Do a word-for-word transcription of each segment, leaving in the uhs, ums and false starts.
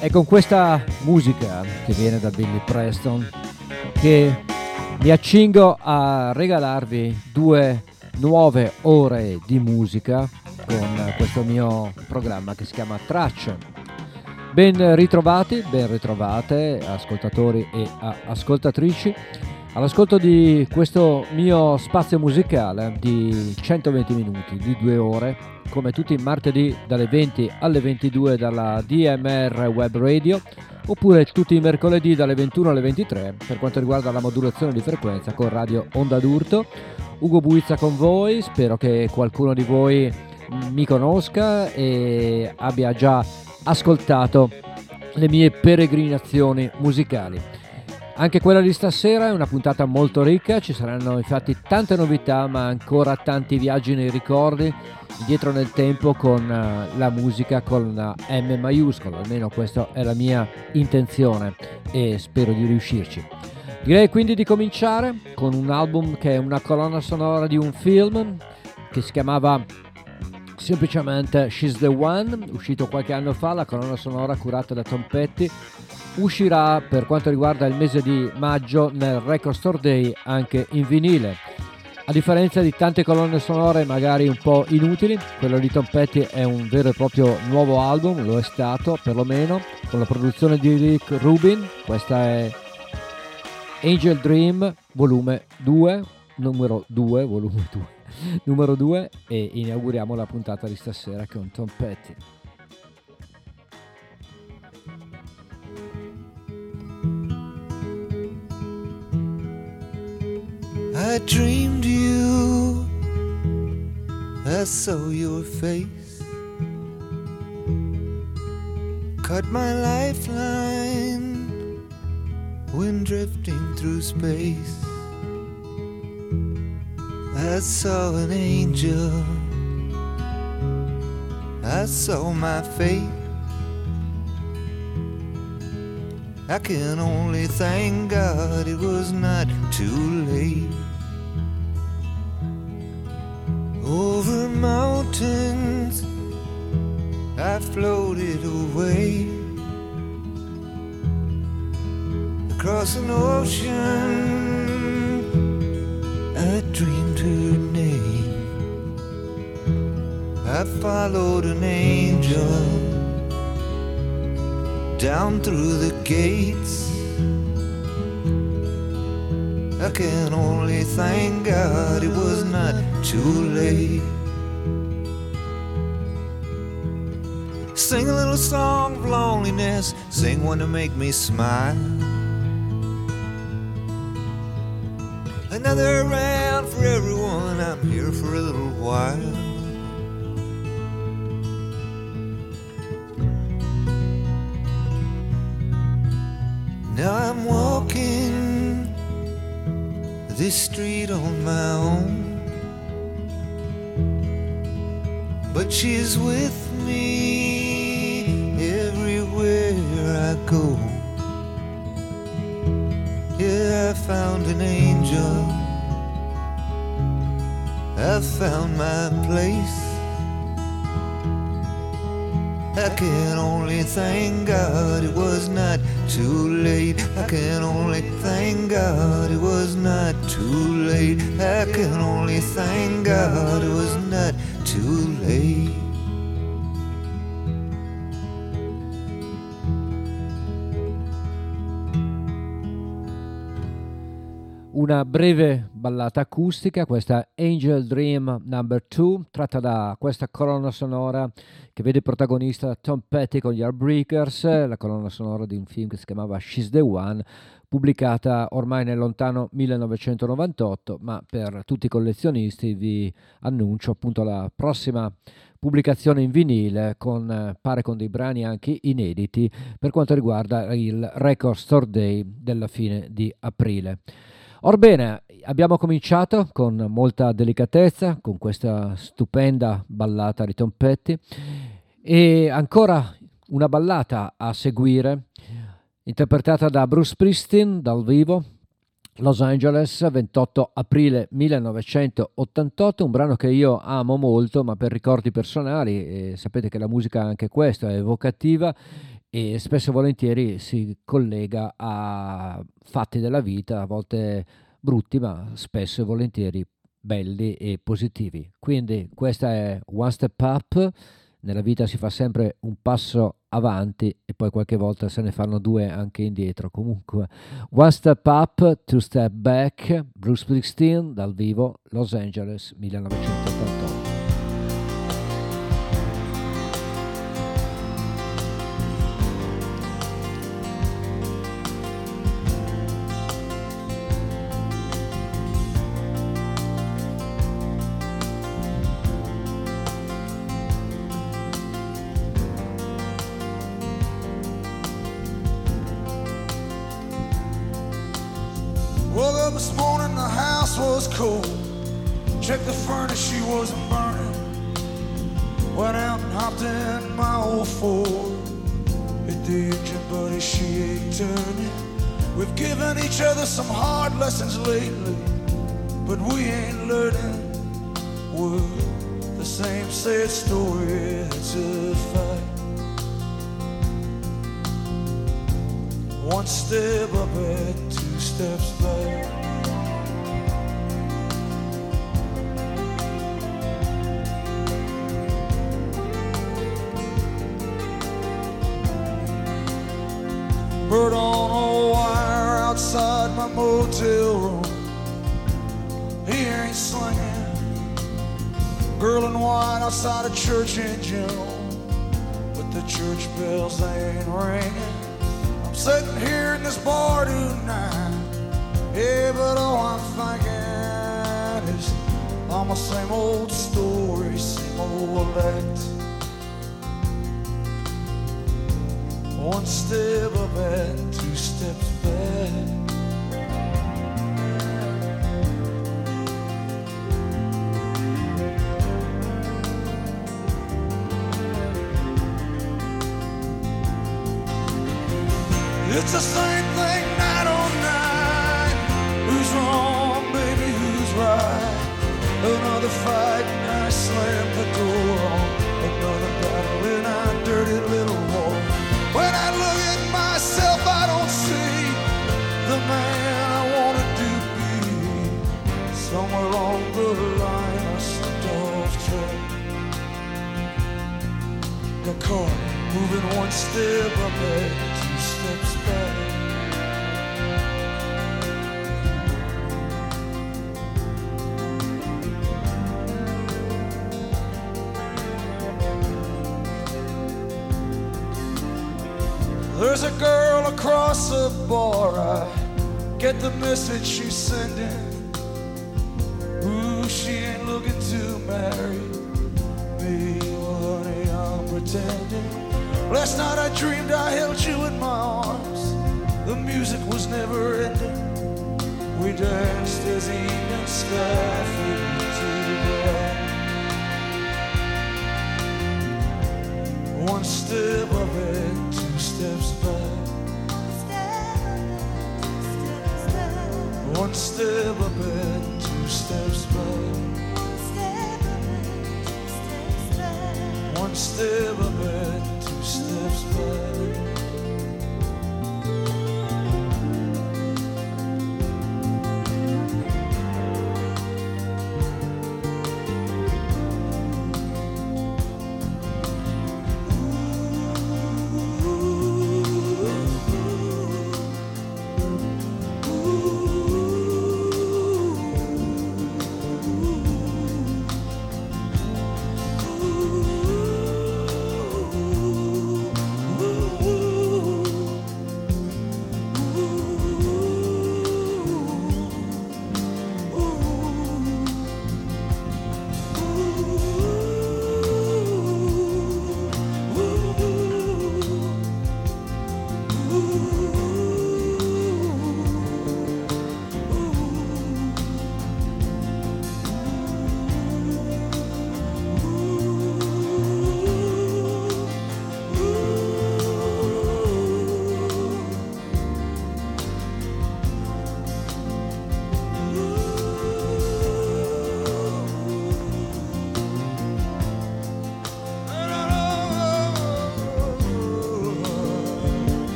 È con questa musica che viene da Billy Preston che mi accingo a regalarvi due nuove ore di musica con questo mio programma che si chiama Tracce. Ben ritrovati, ben ritrovate ascoltatori e ascoltatrici all'ascolto di questo mio spazio musicale di centoventi minuti, di due ore, come tutti i martedì dalle venti alle ventidue dalla D M R Web Radio, oppure tutti i mercoledì dalle ventuno alle ventitré per quanto riguarda la modulazione di frequenza con Radio Onda d'Urto. Ugo Buizza con voi, spero che qualcuno di voi mi conosca e abbia già ascoltato le mie peregrinazioni musicali. Anche quella di stasera è una puntata molto ricca, ci saranno infatti tante novità ma ancora tanti viaggi nei ricordi, dietro nel tempo con la musica con la M maiuscola, almeno questa è la mia intenzione e spero di riuscirci. Direi quindi di cominciare con un album che è una colonna sonora di un film che si chiamava semplicemente She's the One, uscito qualche anno fa, la colonna sonora curata da Tom Petty. Uscirà per quanto riguarda il mese di maggio nel Record Store Day anche in vinile. A differenza di tante colonne sonore magari un po' inutili, quello di Tom Petty è un vero e proprio nuovo album, lo è stato perlomeno, con la produzione di Rick Rubin. Questa è Angel Dream volume due, numero due, volume due, numero due, e inauguriamo la puntata di stasera con Tom Petty. I dreamed you, I saw your face, cut my lifeline when drifting through space. I saw an angel, I saw my fate. I can only thank God it was not too late. Over mountains I floated away, across an ocean I dreamed her name. I followed an angel down through the gates. I can only thank God it was not too late. Sing a little song of loneliness, sing one to make me smile. Another round for everyone, I'm here for a little while. Now I'm walking this street on my own, but she's with me everywhere I go. Yeah, I found an angel, I found my place. I can only thank God it was not too late. I can only thank God it was not too late. I can only thank God it was not too late. Una breve ballata acustica, questa Angel Dream number two, tratta da questa colonna sonora che vede protagonista Tom Petty con gli Heartbreakers, la colonna sonora di un film che si chiamava She's the One, pubblicata ormai nel lontano millenovecentonovantotto, ma per tutti i collezionisti vi annuncio appunto la prossima pubblicazione in vinile, con pare con dei brani anche inediti per quanto riguarda il Record Store Day della fine di aprile. Orbene, abbiamo cominciato con molta delicatezza con questa stupenda ballata di Tom Petty e ancora una ballata a seguire interpretata da Bruce Springsteen dal vivo, Los Angeles, ventotto aprile millenovecentottantotto, un brano che io amo molto ma per ricordi personali, e sapete che la musica anche questa è evocativa, e spesso e volentieri si collega a fatti della vita, a volte brutti, ma spesso e volentieri belli e positivi. Quindi questa è One Step Up. Nella vita si fa sempre un passo avanti e poi qualche volta se ne fanno due anche indietro. Comunque, One Step Up, Two Step Back, Bruce Springsteen dal vivo, Los Angeles, millenovecentottantotto. Woke up this morning, the house was cold. Checked the furnace, she wasn't burning. Went out and hopped in my old Ford. Hit the engine, buddy, she ain't turning. We've given each other some hard lessons lately, but we ain't learning. We're the same sad story, it's a fight. One step up and two steps back. Bird on a wire outside my motel room. He ain't slinging. Girl in white outside a church in June, but the church bells ain't ringing. Sitting here in this bar tonight, yeah, but all I'm thinking is all my same old story, same old act. One step up and two steps back. It's the same thing night on night. Who's wrong, baby, who's right? Another fight and I slam the door on. Another battle in our dirty little war. When I look at myself, I don't see the man I wanted to be. Somewhere along the line I slipped off track. Got caught moving one step up and two steps back. There's a girl across the bar, I get the message she's sending. Ooh, she ain't looking to marry me, well, honey, I'm pretending. Last night I dreamed I held you in my arms. The music was never ending. We danced as the evening sky faded to black. One step up and two steps back. One step up and two steps back. One step up and two steps back. Ooh.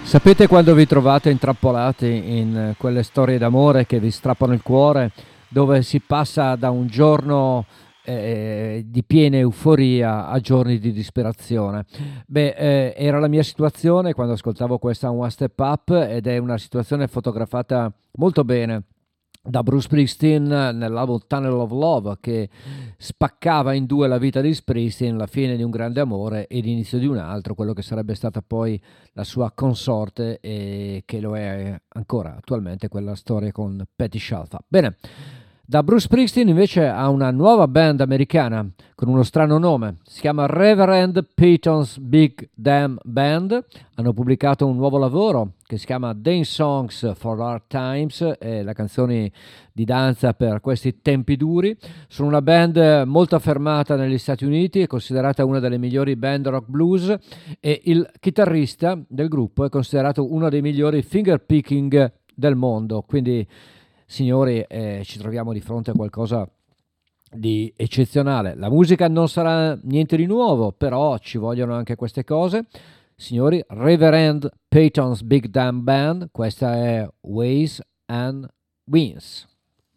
Sapete quando vi trovate intrappolati in quelle storie d'amore che vi strappano il cuore, dove si passa da un giorno eh, di piena euforia a giorni di disperazione? Beh, eh, era la mia situazione quando ascoltavo questa One Step Up, ed è una situazione fotografata molto bene da Bruce Springsteen nell'album Tunnel of Love, che spaccava in due la vita di Springsteen, la fine di un grande amore e l'inizio di un altro, quello che sarebbe stata poi la sua consorte e che lo è ancora attualmente, quella storia con Patti Scialfa. Bene, da Bruce Springsteen invece ha una nuova band americana con uno strano nome, si chiama Reverend Peyton's Big Damn Band. Hanno pubblicato un nuovo lavoro che si chiama Dance Songs for Hard Times, eh, le canzoni di danza per questi tempi duri. Sono una band molto affermata negli Stati Uniti, è considerata una delle migliori band rock blues, e il chitarrista del gruppo è considerato uno dei migliori finger picking del mondo. Quindi, signori, eh, ci troviamo di fronte a qualcosa di eccezionale. La musica non sarà niente di nuovo, però ci vogliono anche queste cose. Signori, Reverend Peyton's Big Damn Band, questa è Ways and Wins.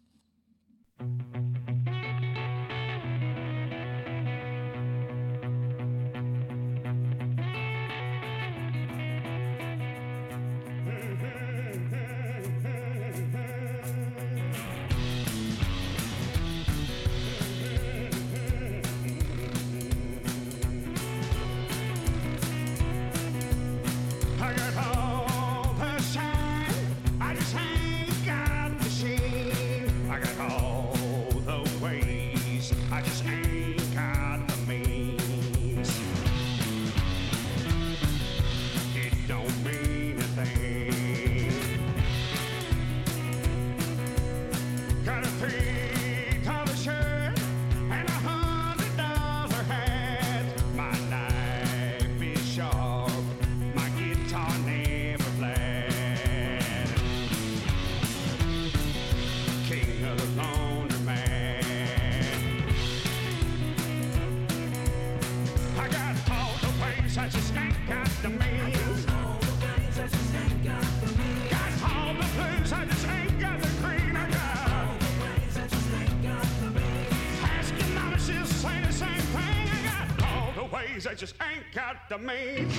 I just ain't got the means.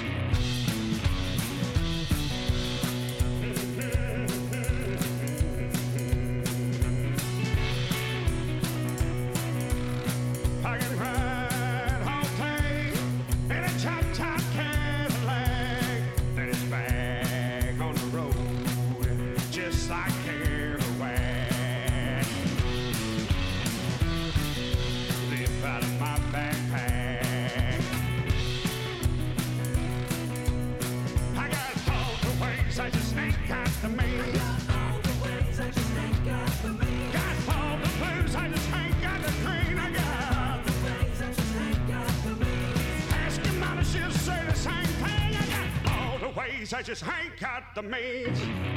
I can ride all day in a chop top Cadillac, then it's back on the road just like Kerouac. Live out of my backpack. I just ain't got the means. Got all the ways, I just ain't got the means. Got all the blues, I just ain't got the green. I got all the ways, I just ain't got the means. Ask your mama, she'll say the same thing. I got all the ways, I just ain't got the means.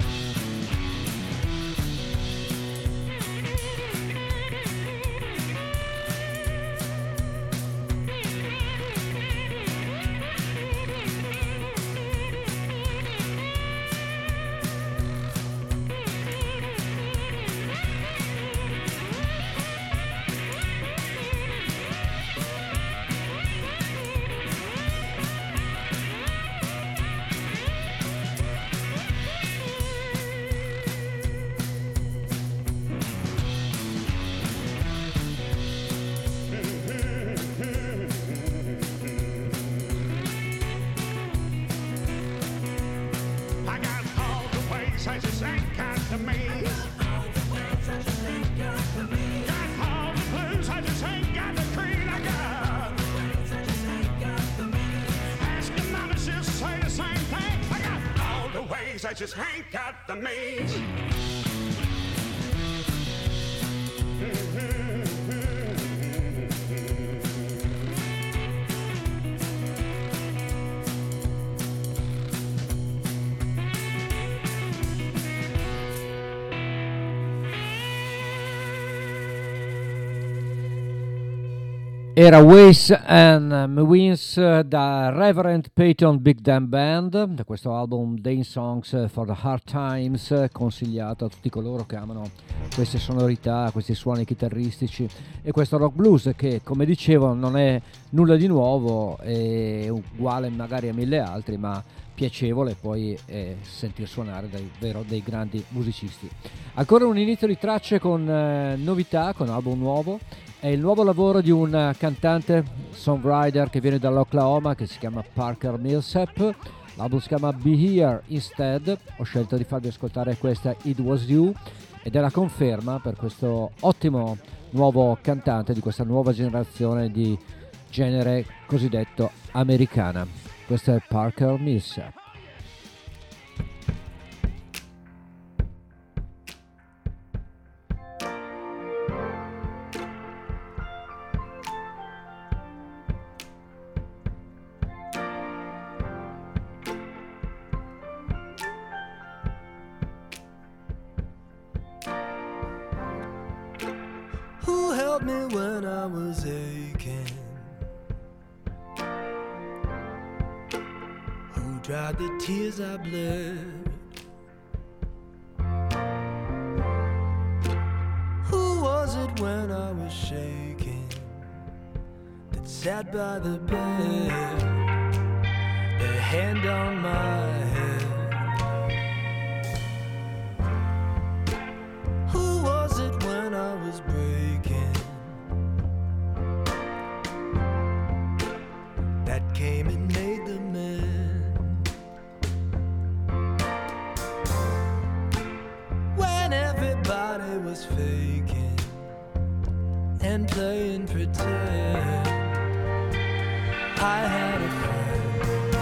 I just ain't got the means. Got all the ways, I just ain't got the means. Got all the blues, I just ain't got the green. I got all the ways, I just ain't got the means. Ask your mama, she'll say the same thing. I got all the ways, I just ain't got the means. Era Ways and Means da Reverend Peyton Big Damn Band, da questo album Dane Songs for the Hard Times, consigliato a tutti coloro che amano queste sonorità, questi suoni chitarristici e questo rock blues che, come dicevo, non è nulla di nuovo, è uguale magari a mille altri, ma piacevole poi eh, sentir suonare davvero dei grandi musicisti. Ancora un inizio di tracce con eh, novità, con album nuovo. È il nuovo lavoro di un cantante songwriter che viene dall'Oklahoma, che si chiama Parker Millsap. L'album si chiama Be Here Instead. Ho scelto di farvi ascoltare questa It Was You ed è la conferma per questo ottimo nuovo cantante di questa nuova generazione di genere cosiddetto americana. Questo è Parker Millsap. Who helped me when I was aching? Who dried the tears I bled? Who was it when I was shaking that sat by the bed, their hand on my head? Who was it when I was breaking that came and made the mend? When everybody was faking and playing pretend, I had a friend.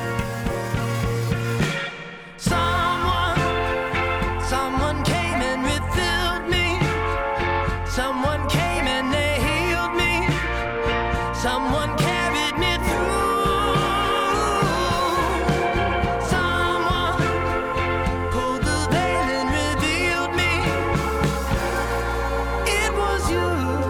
Someone, someone came and refilled me. Someone came and they healed me. Someone carried me through. Someone pulled the veil and revealed me. It was you.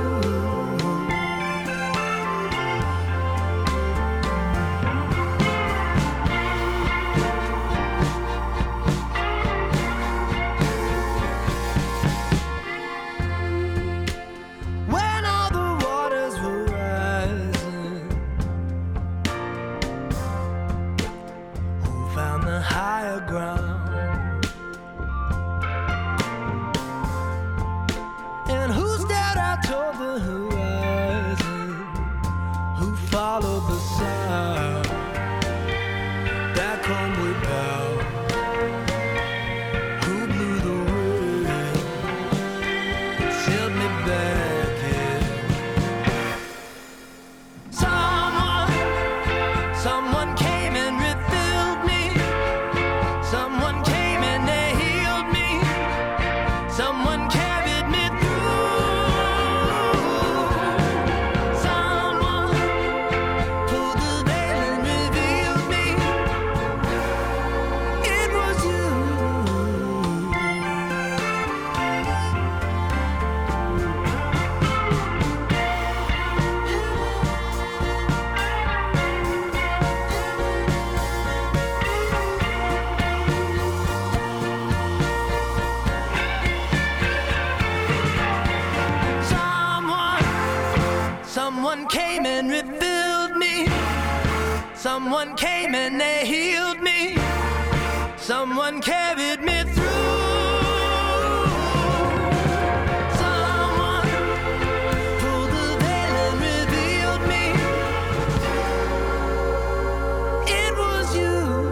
When all the waters were rising, who found the higher ground? And who stared out toward the horizon? Who followed the sound? Back homeward bound. Who blew the wind? Sailed me back in. Someone, someone came and refilled me. Someone came and they healed me. Someone carried me through. Someone pulled the veil and revealed me. It was you. Someone, someone came and refilled me. Someone came and they healed me. Someone carried me through. Someone pulled the veil and revealed me. It was you.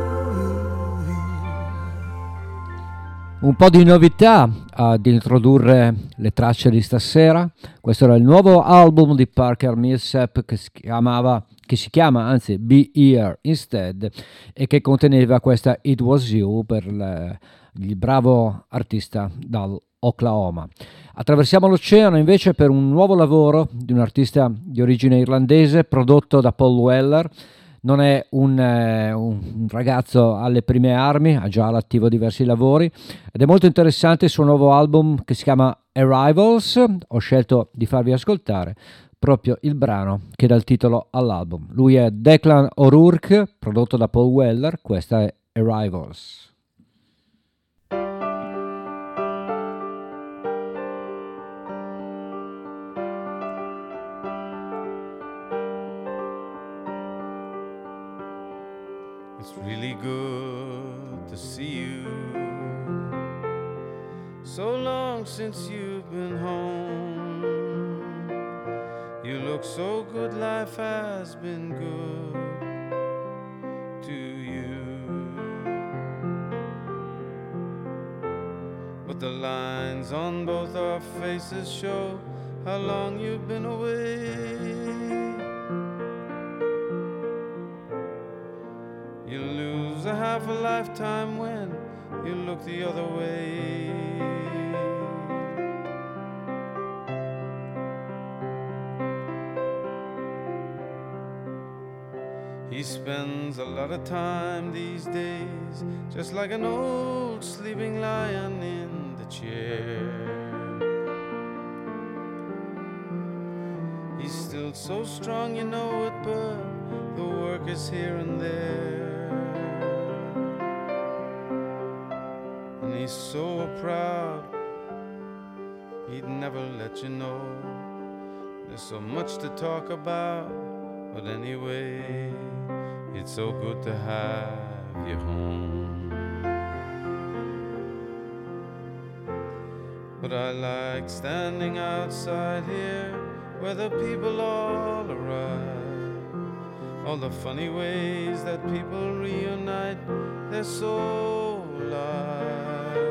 Un po' di novità ad introdurre le tracce di stasera. Questo era il nuovo album di Parker Millsap che si chiamava che si chiama anzi Be Here Instead e che conteneva questa It Was You per il, il bravo artista dall'Oklahoma. Attraversiamo l'oceano invece per un nuovo lavoro di un artista di origine irlandese prodotto da Paul Weller. Non è un, eh, un ragazzo alle prime armi, ha già all'attivo diversi lavori ed è molto interessante il suo nuovo album che si chiama Arrivals. Ho scelto di farvi ascoltare proprio il brano che dà il titolo all'album. Lui è Declan O'Rourke, prodotto da Paul Weller, questa è Arrivals. It's really good to see you. So long since you've been home. You look so good, life has been good to you. But the lines on both our faces show how long you've been away. You lose a half a lifetime when you look the other way. He spends a lot of time these days just like an old sleeping lion in the chair. He's still so strong, you know it, but the work is here and there. And he's so proud, he'd never let you know. There's so much to talk about, but anyway, it's so good to have you home. But I like standing outside here where the people all arrive. All the funny ways that people reunite, they're so alive.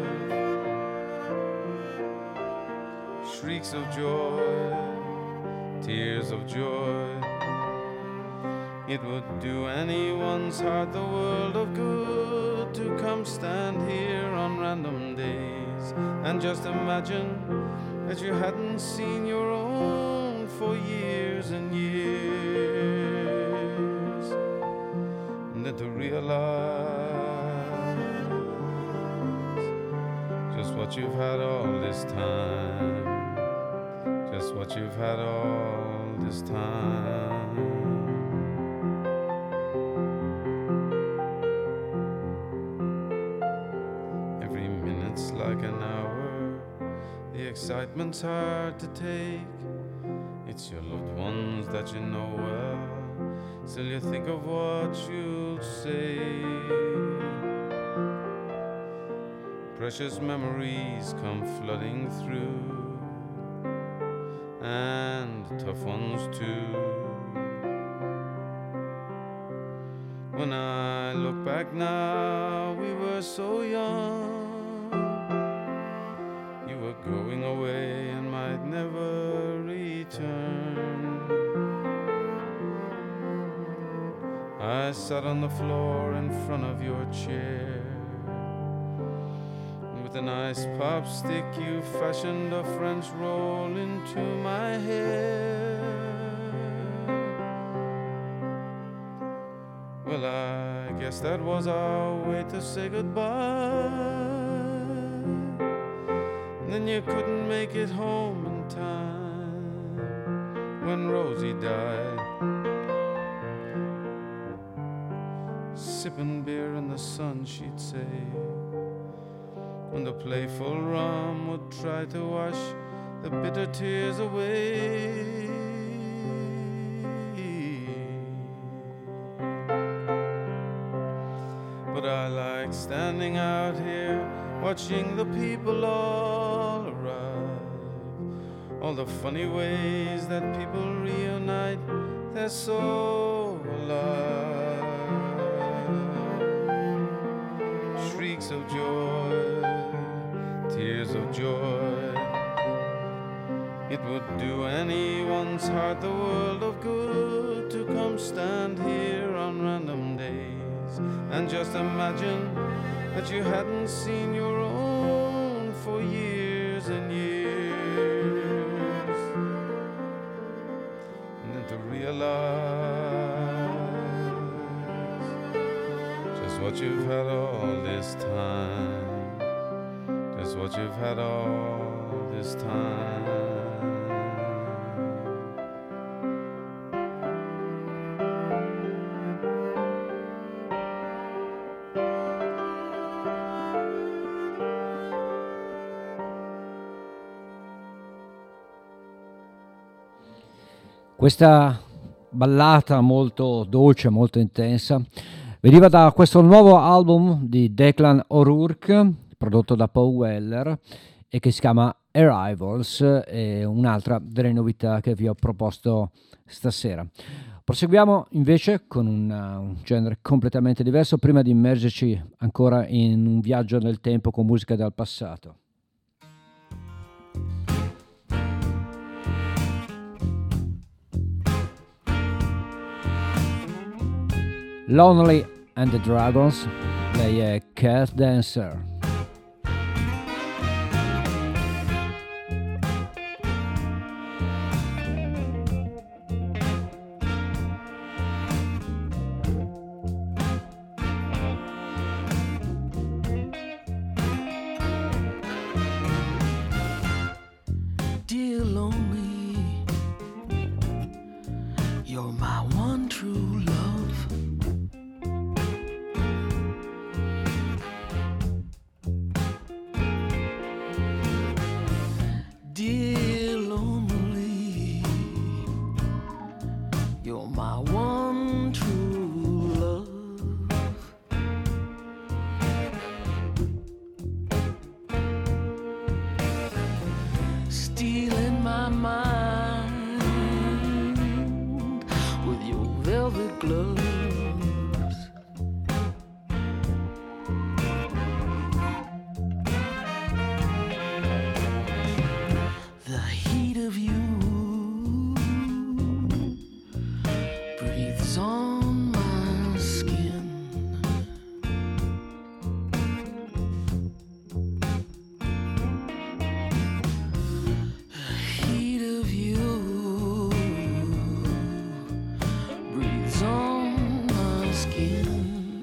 Shrieks of joy, tears of joy. It would do anyone's heart the world of good to come stand here on random days and just imagine that you hadn't seen your own for years and years, and then to realize just what you've had all this time, just what you've had all this time. Like an hour, the excitement's hard to take. It's your loved ones that you know well, still you think of what you'll say. Precious memories come flooding through, and tough ones too. When I look back now, we were so young. Going away and might never return. I sat on the floor in front of your chair. With an ice pop stick you fashioned a French roll into my hair. Well, I guess that was our way to say goodbye. Then you couldn't make it home in time when Rosie died. Sipping beer in the sun, she'd say, when the playful rum would try to wash the bitter tears away. But I like standing out here watching the people all arrive. All the funny ways that people reunite, they're so alive. Shrieks of joy, tears of joy. It would do anyone's heart the world of good to come stand here on random days and just imagine that you hadn't seen your own for years and years, and then to realize just what you've had all this time, just what you've had all this time. Questa ballata molto dolce, molto intensa, veniva da questo nuovo album di Declan O'Rourke, prodotto da Paul Weller, e che si chiama Arrivals, e un'altra delle novità che vi ho proposto stasera. Proseguiamo invece con un, un genere completamente diverso, prima di immergerci ancora in un viaggio nel tempo con musica dal passato. Lonely and the Dragons, lei è Cat Dancer. Dear lonely, you're my one true love. Dear lonely, you're my one true love. Stealing my mind with your velvet gloves. The heat of you breathes on my skin. The heat of you breathes on my skin.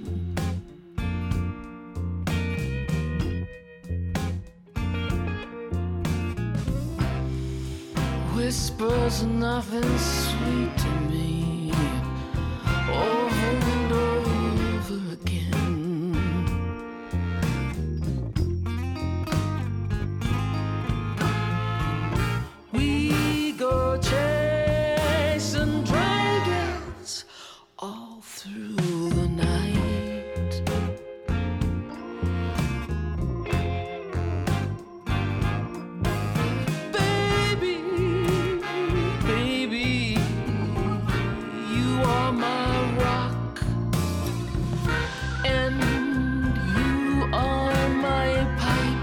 Whispers of nothing sweet to me, over and over again. We go chasing dragons all through the night. Baby, baby, you are my rock, and you are my pipe.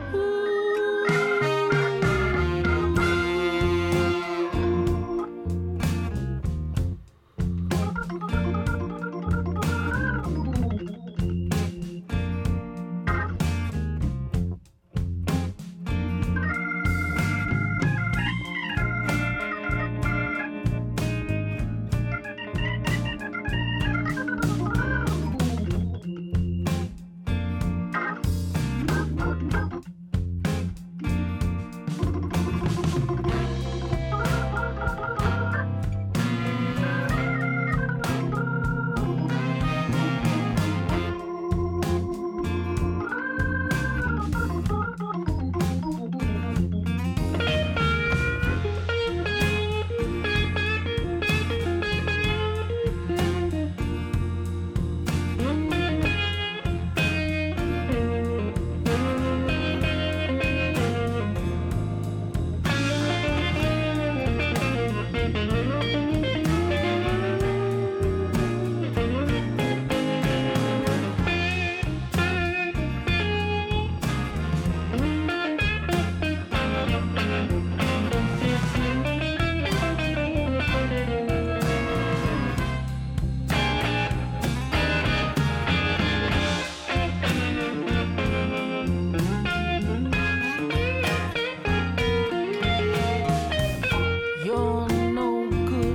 You're no good.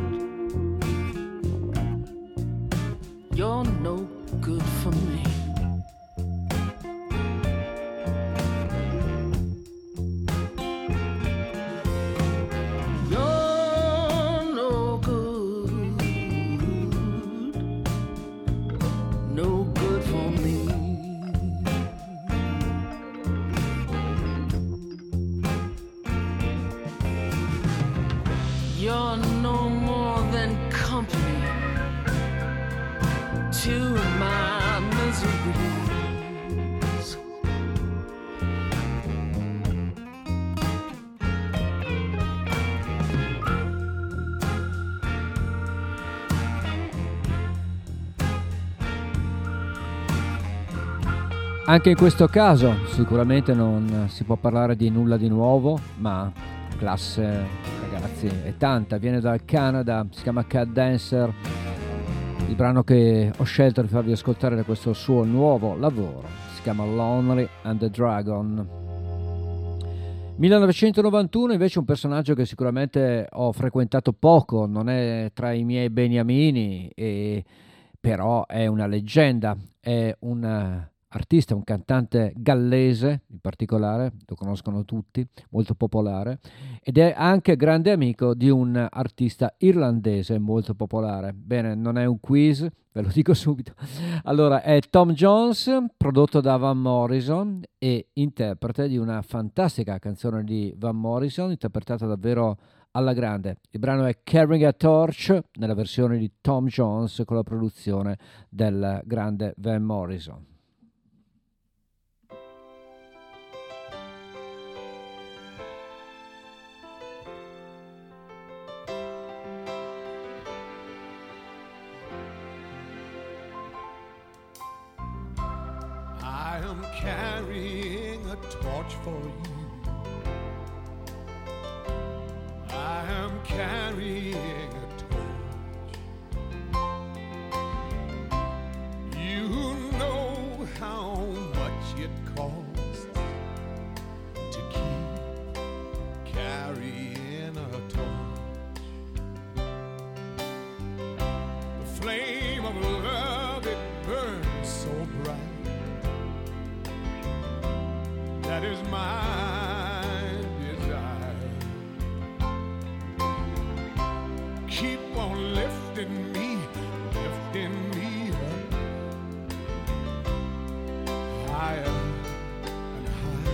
You're no good for me. You're no good. No good for me. You're no more Anche in questo caso sicuramente non si può parlare di nulla di nuovo, ma classe, ragazzi, è tanta. Viene dal Canada, si chiama Cat Dancer. Il brano che ho scelto di farvi ascoltare da questo suo nuovo lavoro si chiama Lonely and the Dragon. millenovecentonovantuno invece un personaggio che sicuramente ho frequentato poco, non è tra i miei beniamini, e però è una leggenda, è un artista, un cantante gallese in particolare, lo conoscono tutti, molto popolare, ed è anche grande amico di un artista irlandese molto popolare. Bene, non è un quiz, ve lo dico subito. Allora, è Tom Jones, prodotto da Van Morrison e interprete di una fantastica canzone di Van Morrison, interpretata davvero alla grande. Il brano è Carrying a Torch, nella versione di Tom Jones con la produzione del grande Van Morrison. I am carrying a torch for you. I am carrying a torch. You know how much it costs to keep carrying a torch. The flame of love, it burns so bright. That is my desire. Keep on lifting me, lifting me up higher and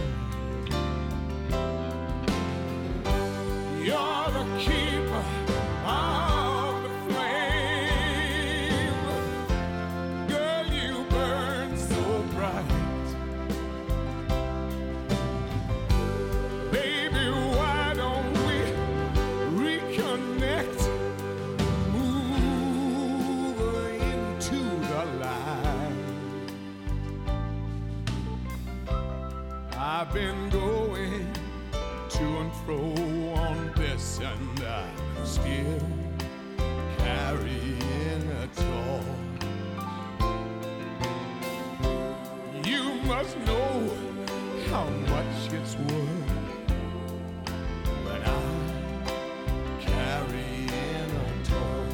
higher. You're the keeper of the flame. Girl, you burn so bright. I've been going to and fro on this, and I'm still carrying a torch. You must know how much it's worth when I'm carrying a torch.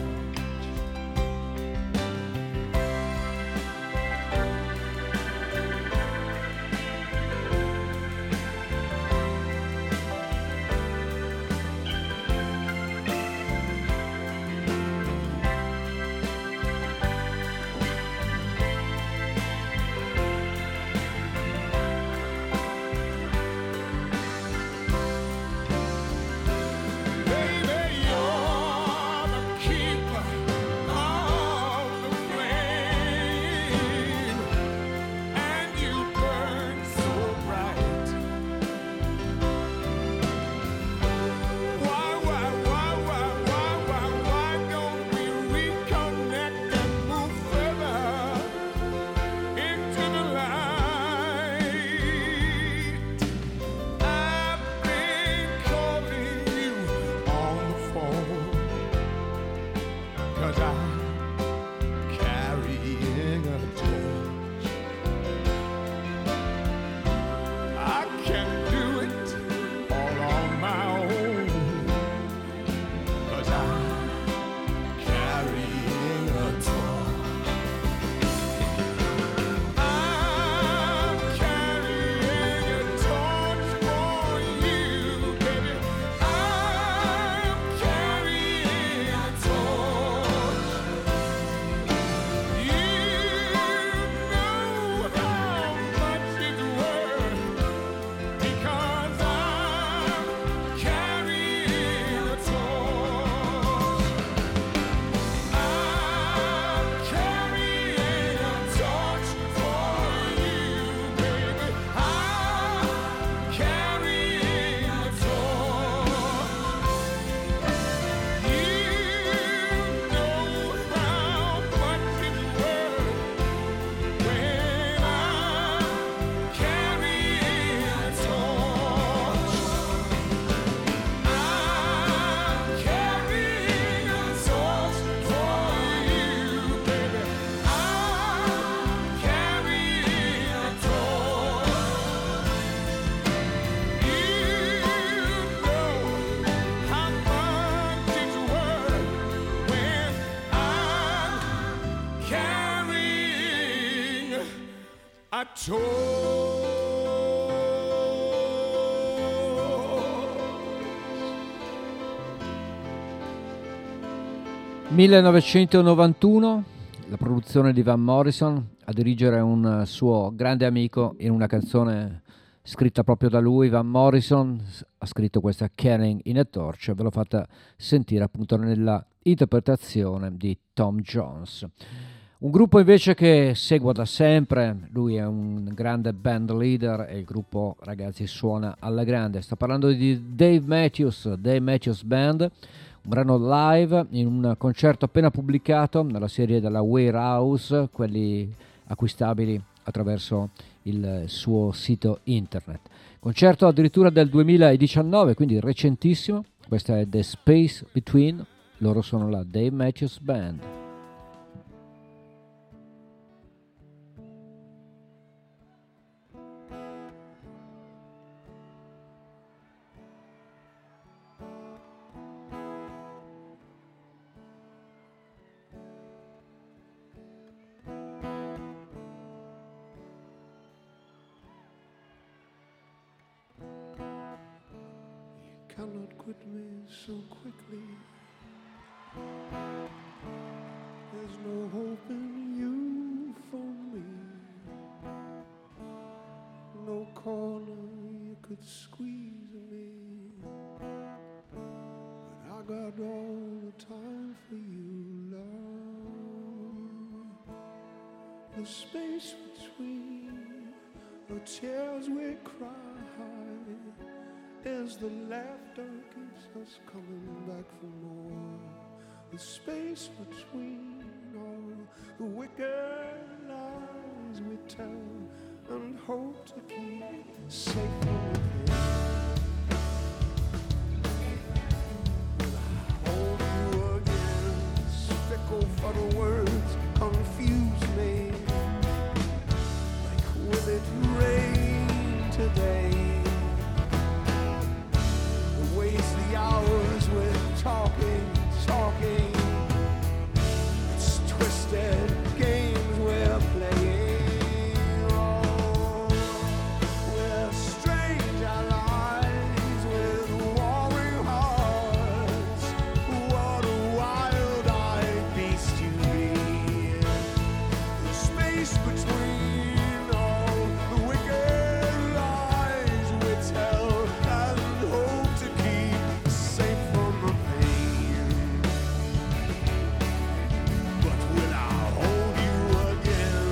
I told millenovecentonovantuno, la produzione di Van Morrison, a dirigere un suo grande amico in una canzone scritta proprio da lui. Van Morrison ha scritto questa Carrying in a Torch, ve l'ho fatta sentire appunto nella interpretazione di Tom Jones. Un gruppo invece che seguo da sempre, lui è un grande band leader e il gruppo, ragazzi, suona alla grande. Sto parlando di Dave Matthews, Dave Matthews Band, un brano live in un concerto appena pubblicato nella serie della Warehouse, quelli acquistabili attraverso il suo sito internet. Concerto addirittura del duemiladiciannove, quindi recentissimo. Questa è The Space Between, loro sono la Dave Matthews Band. Cannot quit me so quickly. There's no hope in you for me. No corner you could squeeze me. But I got all the time for you, love. The space between the tears we cry as the laughter keeps us coming back for more. The space between all the wicked lies we tell and hope to keep safe from within. Will I hold you again? Fickle for the words confuse me. Like will it rain today? Waste the hours with talking, talking. It's twisted games we're playing. Oh, we're strange allies with warring hearts. What a wild-eyed beast you be. The space between all the wicked lies we tell and hope to keep safe from the pain. But will I hold you again?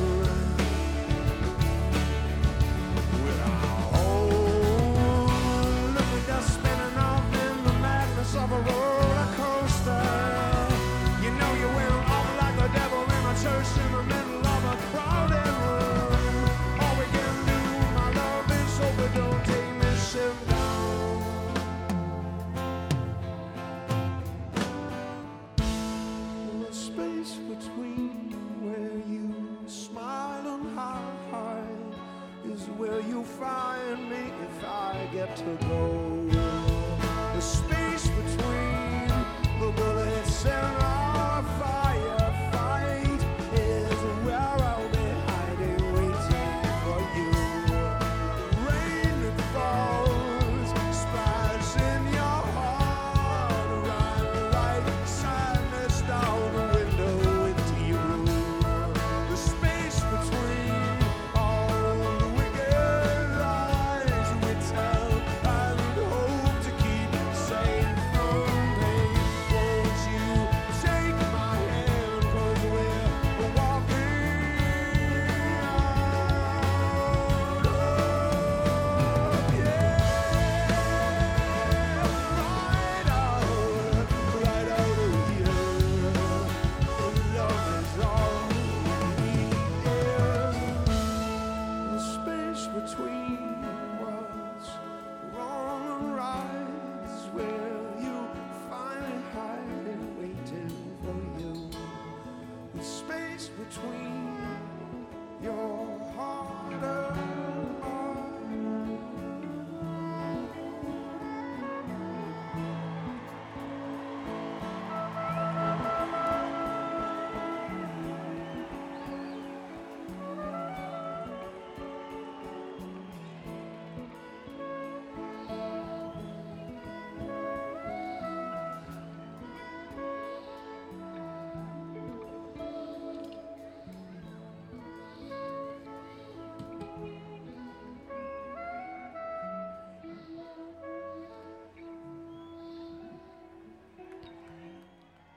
Will I hold? Look at us spinning off in the madness of a roller coaster. You know you went off like the devil in a church in the middle of a crowded room. All we can do, my love, is hope it don't take me shit down. The space between where you smile and hide is where you'll find me if I get to go. The space between the bullets and our firefight is where I'll be hiding, waiting for you. Rain that falls, splash in your heart, run like sadness down the window into your room. The space between all the wicked lies we tell and hope to keep safe from pain. Won't you take my hand, 'cause we're walking out of yeah, right out, right out of here. Love is all we need. The space between what's wrong and right is where you find it hiding, waiting for you. The space between your heart and mine.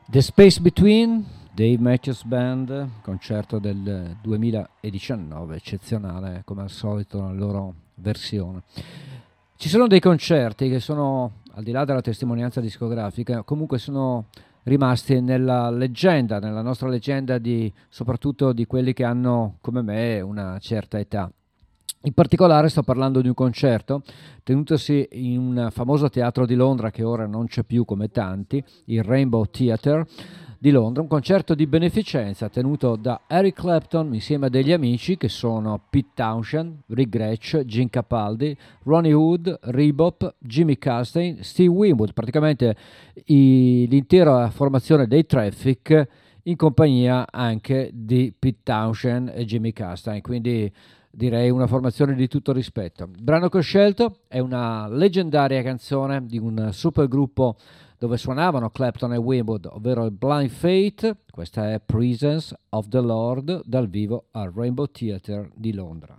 The Space Between, Dave Matthews Band, concerto del duemiladiciannove, eccezionale come al solito nella loro versione. Ci sono dei concerti che sono, al di là della testimonianza discografica, comunque sono rimasti nella leggenda, nella nostra leggenda di, soprattutto di quelli che hanno, come me, una certa età. In particolare sto parlando di un concerto tenutosi in un famoso teatro di Londra che ora non c'è più come tanti, il Rainbow Theatre di Londra, un concerto di beneficenza tenuto da Eric Clapton insieme a degli amici che sono Pete Townshend, Rick Gretsch, Gene Capaldi, Ronnie Wood, Rebop, Jimmy Castaigne, Steve Winwood, praticamente i, l'intera formazione dei Traffic in compagnia anche di Pete Townshend e Jimmy Castaigne, quindi direi una formazione di tutto rispetto. Il brano che ho scelto è una leggendaria canzone di un supergruppo dove suonavano Clapton e Winwood, ovvero il Blind Faith. Questa è Presence of the Lord dal vivo al Rainbow Theatre di Londra.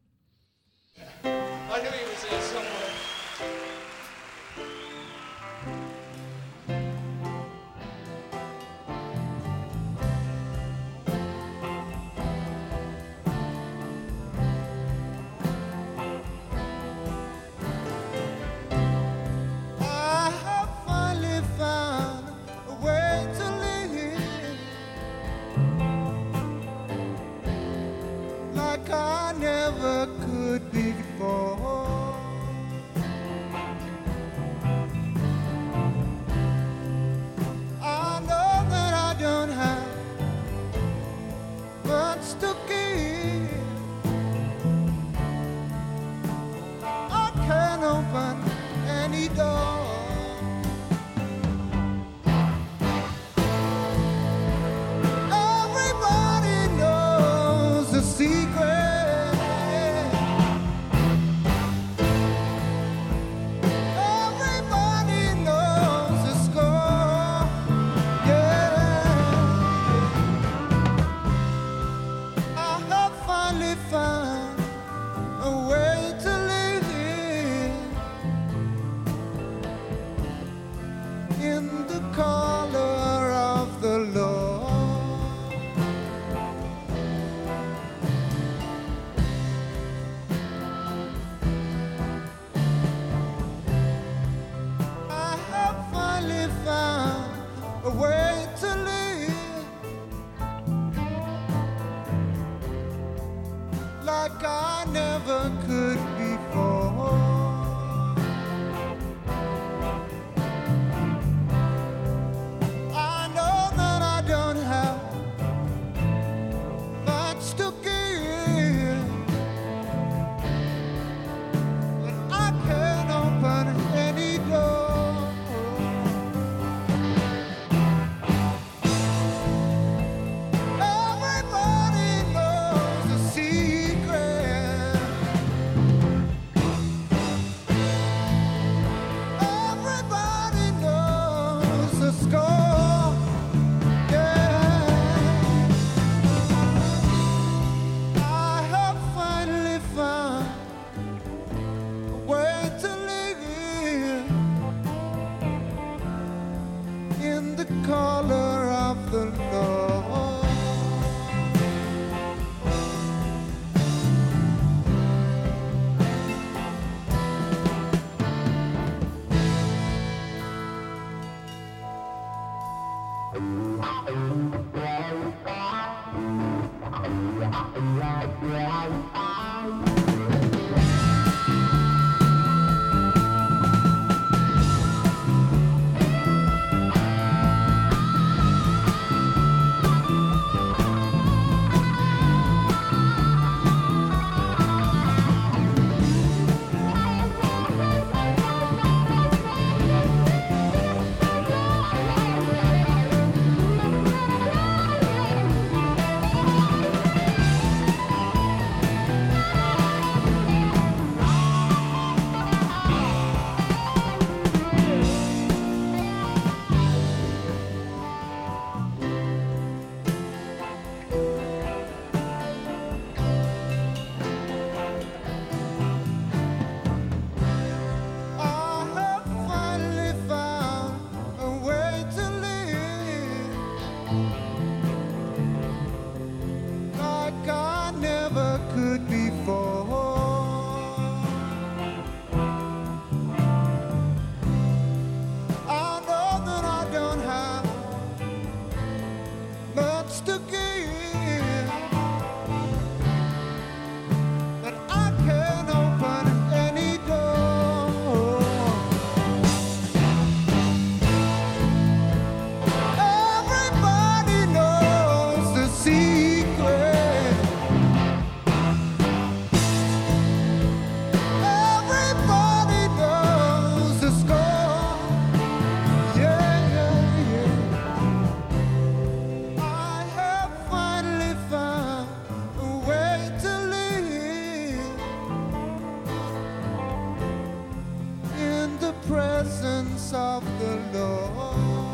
I never could before. I know that I don't have much to give. I can't open any door. Everybody knows the secret. Like I never could before. I know that I don't have much to give, but I can open any door. Everybody knows the secret. Everybody knows the score. Yeah, I have finally found a way to live in the color of the Lord. could before. I know that I don't have much to give, but I can open any door. Everybody knows the secret. Everybody knows the score. Yeah, yeah, yeah. I have finally found a way to live in the presence of the Lord.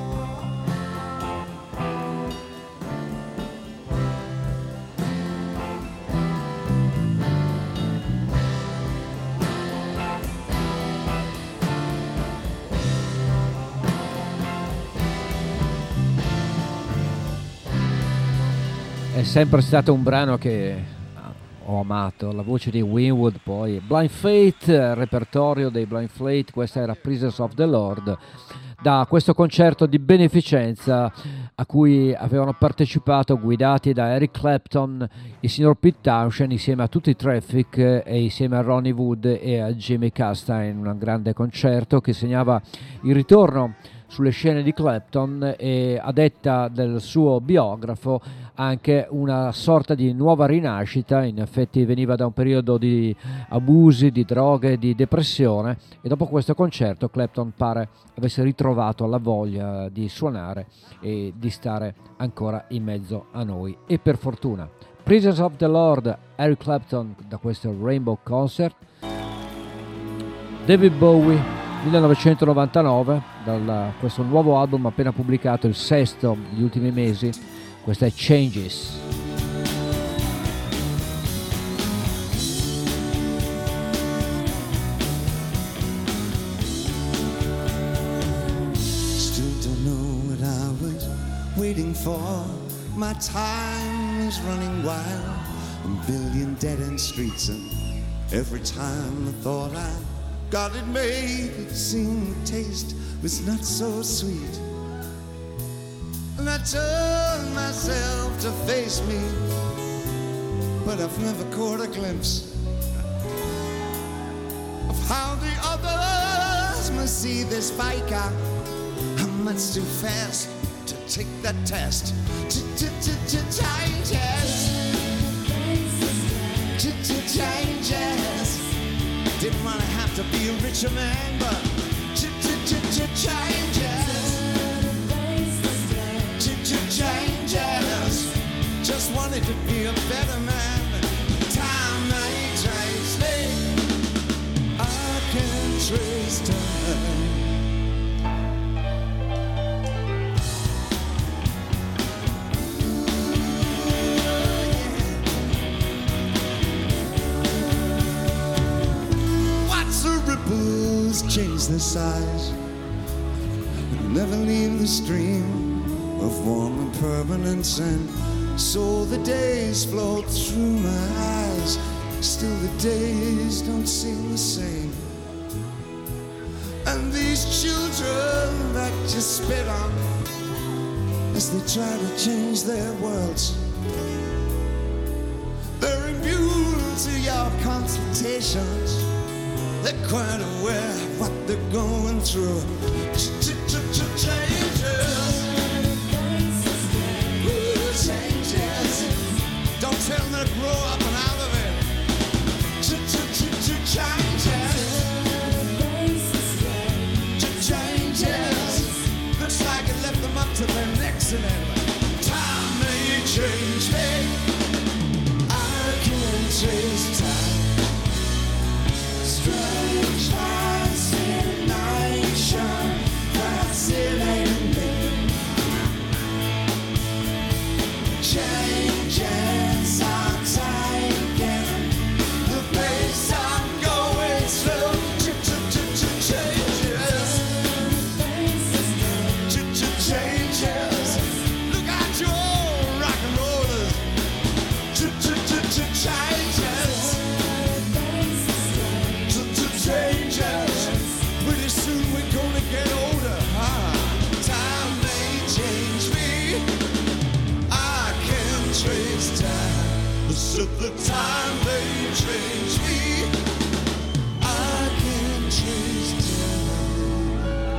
È sempre stato un brano che ho amato, la voce di Winwood, poi Blind Faith, repertorio dei Blind Faith, questa era Prisoners of the Lord, da questo concerto di beneficenza a cui avevano partecipato, guidati da Eric Clapton, il signor Pete Townshend insieme a tutti i Traffic e insieme a Ronnie Wood e a Jimmy Castine, un grande concerto che segnava il ritorno sulle scene di Clapton e, a detta del suo biografo, anche una sorta di nuova rinascita. In effetti veniva da un periodo di abusi, di droghe, di depressione, e dopo questo concerto Clapton pare avesse ritrovato la voglia di suonare e di stare ancora in mezzo a noi, e per fortuna. Prisoners of the Lord, Eric Clapton, da questo Rainbow Concert. David Bowie, millenovecentonovantanove, da questo nuovo album appena pubblicato, il sesto negli ultimi mesi. Questa è Changes. Still don't know what I was waiting for. My time is running wild. A billion dead-end streets, and every time I thought I got it made, it seemed the taste was not so sweet. And I turned myself to face me, but I've never caught a glimpse of how the others must see this biker. I'm much too fast to take that test. Changes, changes. Didn't wanna have to be a richer man, but changes, changes. Just wanted to be a better man. Time may trace me. I can trace time. Ripples change their size, but never leave the stream of warm impermanence, and so the days flow through my eyes. Still the days don't seem the same, and these children that you spit on as they try to change their worlds, they're immune to your consultations. They're quite aware of what they're going through. Changes, changes. Don't tell them to grow up and out of it. Changes, changes. Looks like it left them up to their necks in it. Time may change me. I can change time. Strange fascination, fascinating me. Changes are taking the pace I'm going through. Changes, changes. Look at you all rock and rollers. Changes. this time, but at the time they changed me, I can't change time.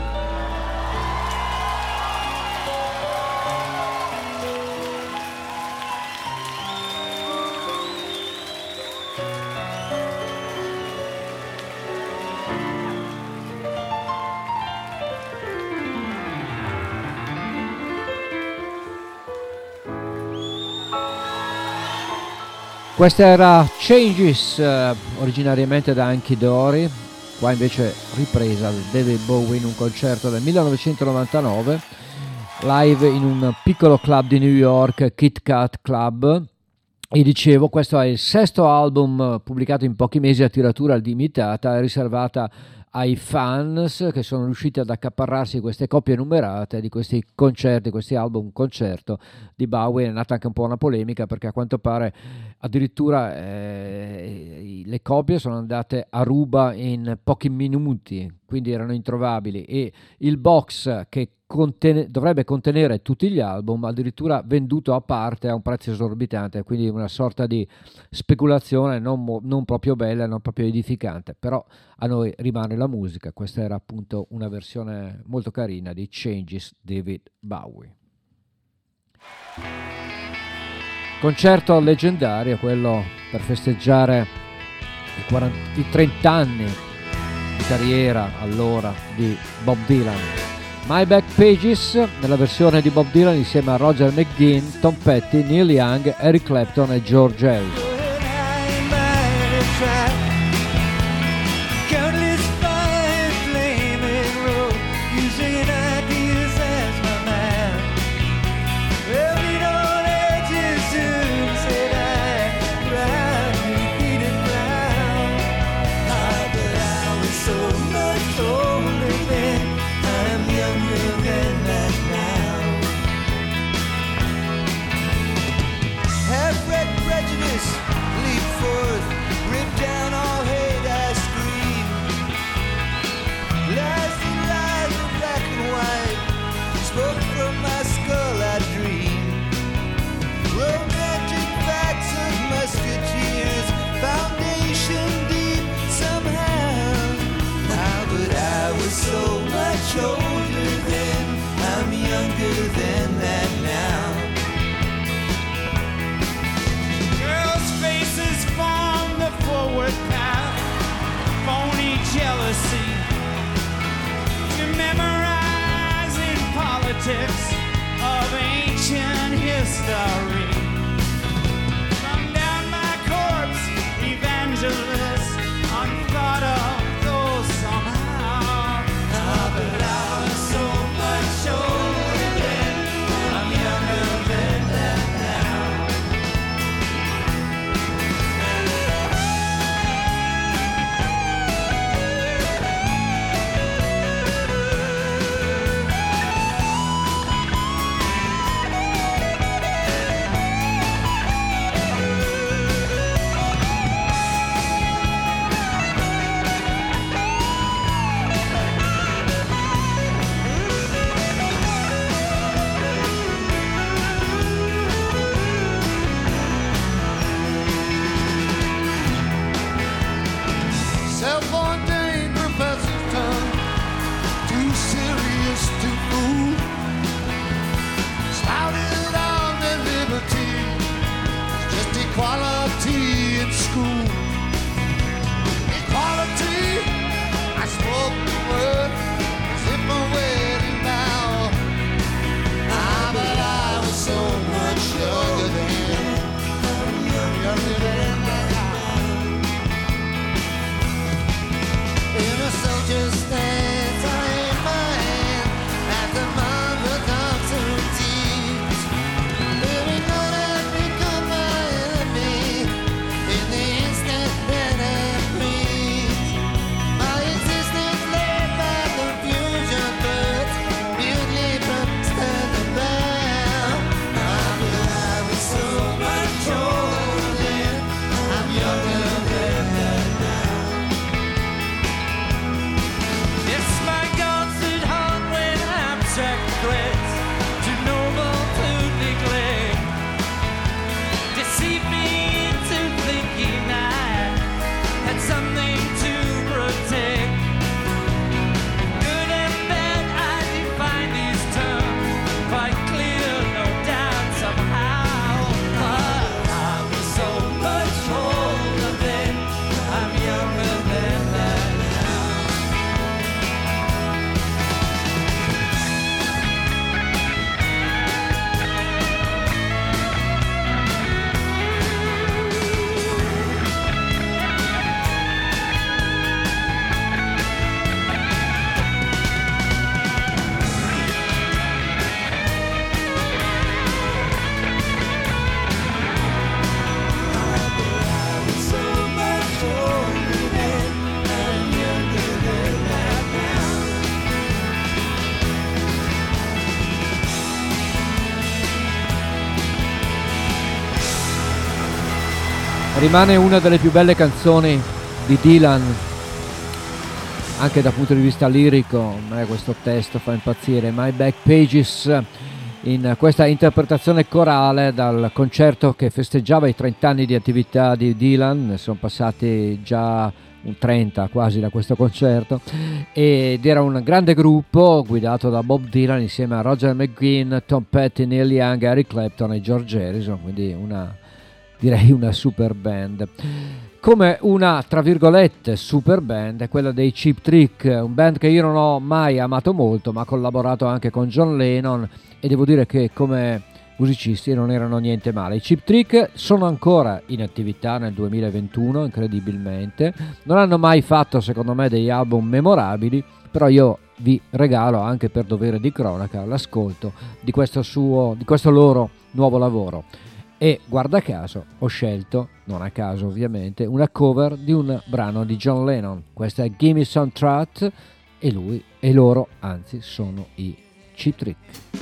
Questa era Changes, eh, originariamente da Hanky Dory, qua invece ripresa da David Bowie in un concerto del millenovecentonovantanove, live in un piccolo club di New York, Kit Kat Club. E dicevo, questo è il sesto album pubblicato in pochi mesi a tiratura limitata, riservata ai fans che sono riusciti ad accaparrarsi queste copie numerate di questi concerti, questi album concerto di Bowie. È nata anche un po' una polemica perché a quanto pare addirittura eh, le copie sono andate a ruba in pochi minuti, quindi erano introvabili, e il box che Contene, dovrebbe contenere tutti gli album, addirittura venduto a parte a un prezzo esorbitante, quindi una sorta di speculazione non, non proprio bella, non proprio edificante, però a noi rimane la musica. Questa era appunto una versione molto carina di Changes, David Bowie. Concerto leggendario, quello per festeggiare i, quaranta, i trenta anni di carriera allora di Bob Dylan. My Back Pages nella versione di Bob Dylan insieme a Roger McGuinn, Tom Petty, Neil Young, Eric Clapton e George Harrison. Older then, I'm younger than that now. Girls' faces form the forward path, phony jealousy. You memorize in politics of ancient history. Come down my corpse, evangelist, unthought of those somehow. But I was so much older then, I'm younger than that now. Self-ordained professor's tongue, too serious to fool. Spouted on their liberty, just equality in school. Equality, I spoke the word as if I wear it now. Ah, but I was so much younger then, younger than that. In a soldier's stance, I aim my hand at the mother concertines. Living on has become my enemy in the instant that I breathe. My existence led by the rimane una delle più belle canzoni di Dylan, anche dal punto di vista lirico. A me questo testo fa impazzire. My Back Pages, in questa interpretazione corale dal concerto che festeggiava i trenta anni di attività di Dylan. Ne sono passati già un trenta quasi da questo concerto, ed era un grande gruppo guidato da Bob Dylan insieme a Roger McGuinn, Tom Petty, Neil Young, Eric Clapton e George Harrison, quindi una, direi una super band. Come una, tra virgolette, super band è quella dei Cheap Trick, un band che io non ho mai amato molto, ma ha collaborato anche con John Lennon, e devo dire che come musicisti non erano niente male. I Cheap Trick sono ancora in attività nel duemilaventuno, incredibilmente. Non hanno mai fatto, secondo me, degli album memorabili, però io vi regalo, anche per dovere di cronaca, l'ascolto di questo suo, di questo loro nuovo lavoro. E guarda caso ho scelto, non a caso ovviamente, una cover di un brano di John Lennon. Questa è Gimme Some Truth, e lui e loro, anzi, sono i Cheap Trick.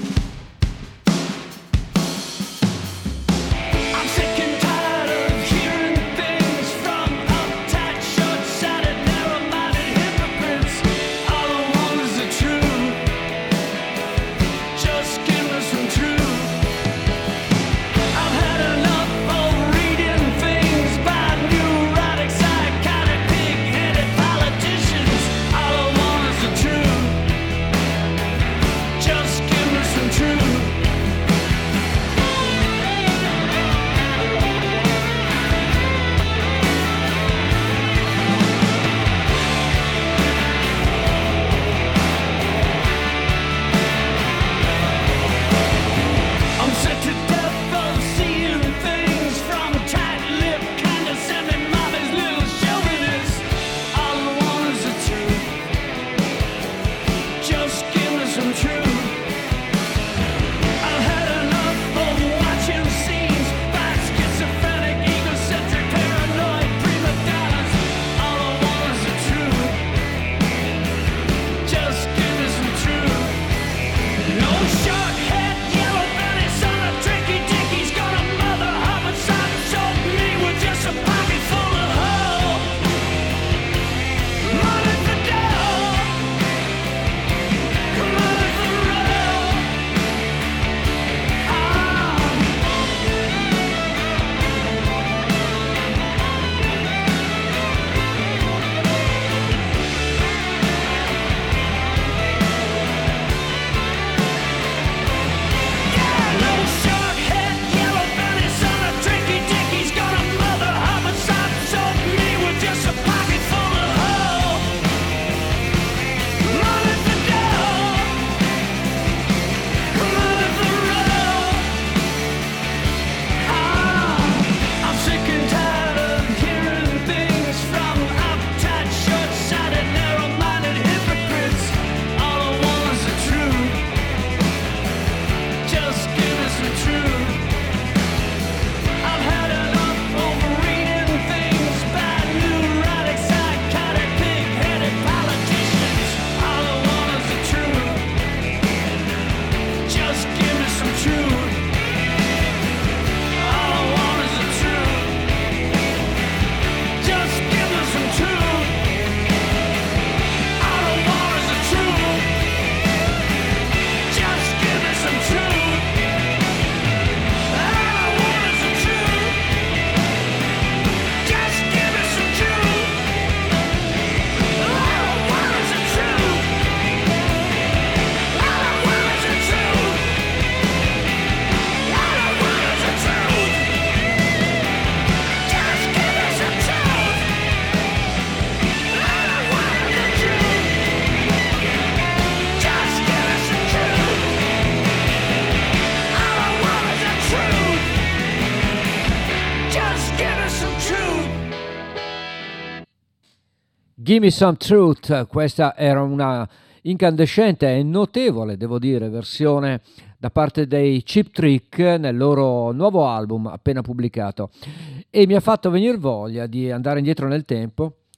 Gimme Some Truth, questa era una incandescente e notevole, devo dire, versione da parte dei Cheap Trick nel loro nuovo album appena pubblicato, e mi ha fatto venire voglia di andare indietro nel tempo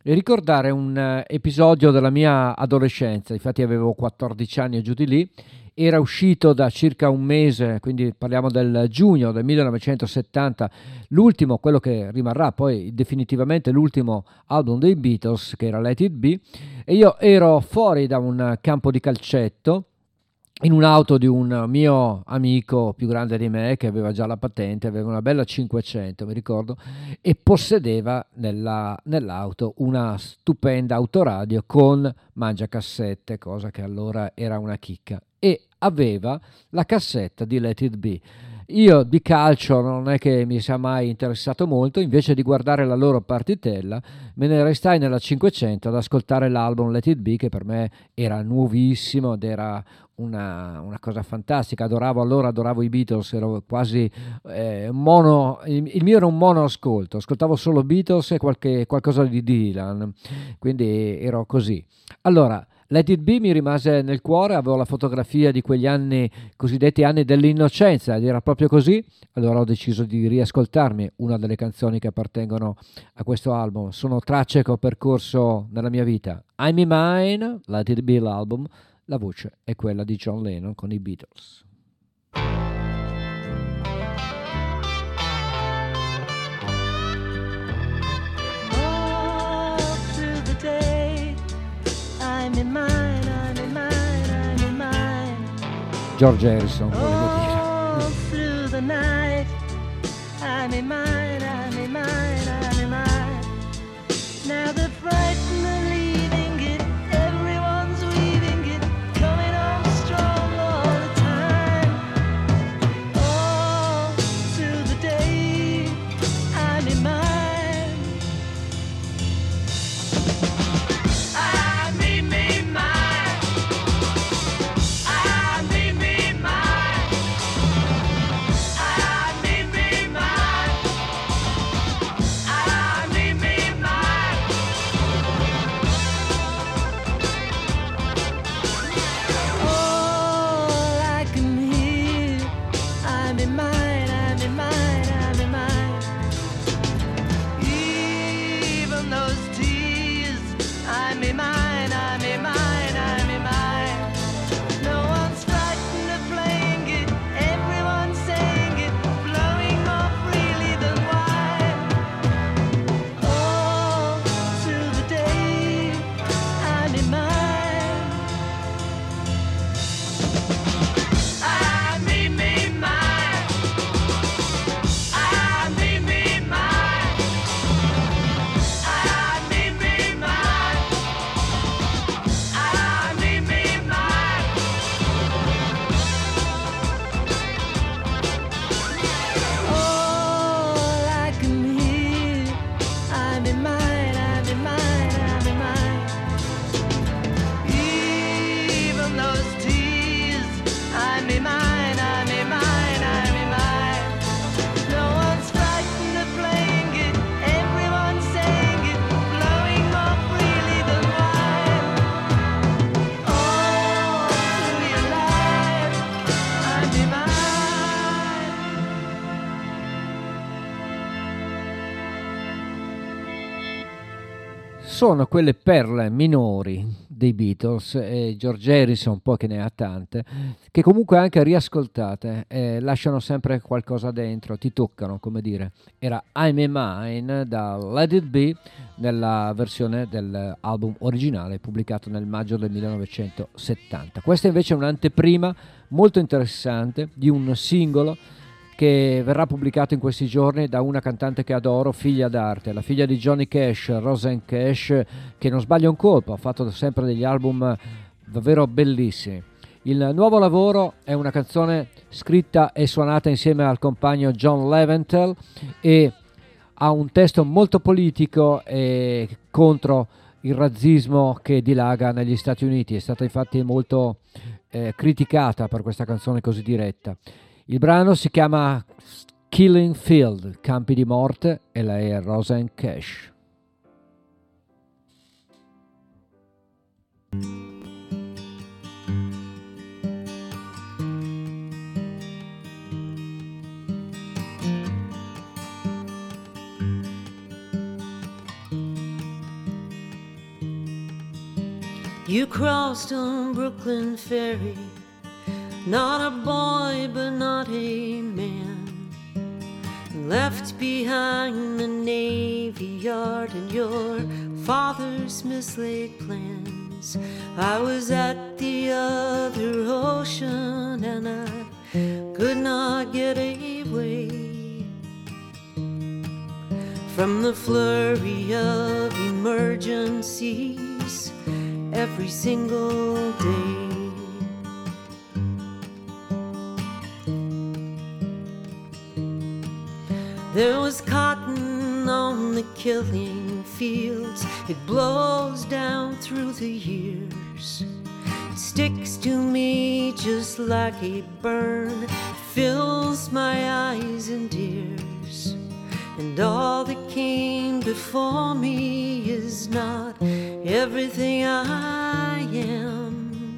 e ricordare un eh, episodio della mia adolescenza. Infatti avevo quattordici anni e giù di lì. Era uscito da circa un mese, quindi parliamo del giugno del millenovecentosettanta, l'ultimo, quello che rimarrà poi definitivamente l'ultimo album dei Beatles, che era Let It Be, e io ero fuori da un campo di calcetto in un'auto di un mio amico più grande di me, che aveva già la patente, aveva una bella cinquecento, mi ricordo, e possedeva nella, nell'auto una stupenda autoradio con mangiacassette, cosa che allora era una chicca, e aveva la cassetta di Let It Be. Io di calcio non è che mi sia mai interessato molto, invece di guardare la loro partitella me ne restai nella cinquecento ad ascoltare l'album Let It Be, che per me era nuovissimo ed era una, una cosa fantastica. Adoravo allora, adoravo i Beatles, ero quasi eh, mono, il, il mio era un mono ascolto, ascoltavo solo Beatles e qualche, qualcosa di Dylan, quindi ero così. Allora, Let It Be mi rimase nel cuore, avevo la fotografia di quegli anni, cosiddetti anni dell'innocenza, ed era proprio così. Allora ho deciso di riascoltarmi una delle canzoni che appartengono a questo album. Sono tracce che ho percorso nella mia vita. I'm in Mine, Let It Be l'album, la voce è quella di John Lennon con i Beatles. I'm in mine, I'm in mine, I'm in mine. George Harrison, volevo dire. All through the night, I'm in mine, I'm in mine, I'm in mine. Now the frightened are leaving it, everyone's weaving it, coming on strong all the time. All through the day, I'm in mine. Sono quelle perle minori dei Beatles, e George Harrison un po' che ne ha tante, che comunque anche riascoltate eh, lasciano sempre qualcosa dentro, ti toccano, come dire. Era I'm in Mine da Let It Be nella versione dell'album originale pubblicato nel maggio del millenovecentosettanta. Questa invece è un'anteprima molto interessante di un singolo che verrà pubblicato in questi giorni da una cantante che adoro, figlia d'arte, la figlia di Johnny Cash, Rosanne Cash, che non sbaglia un colpo, ha fatto sempre degli album davvero bellissimi. Il nuovo lavoro è una canzone scritta e suonata insieme al compagno John Leventhal e ha un testo molto politico e contro il razzismo che dilaga negli Stati Uniti. È stata infatti molto eh, criticata per questa canzone così diretta. Il brano si chiama Killing Field, Campi di Morte, e lei è Rosanne Cash. You crossed on Brooklyn Ferry, not a boy but not a man, left behind the Navy Yard and your father's mislaid plans. I was at the other ocean and I could not get away from the flurry of emergencies every single day. There was cotton on the killing fields. It blows down through the years. It sticks to me just like a burn. Fills my eyes and ears. And all that came before me is not everything I am.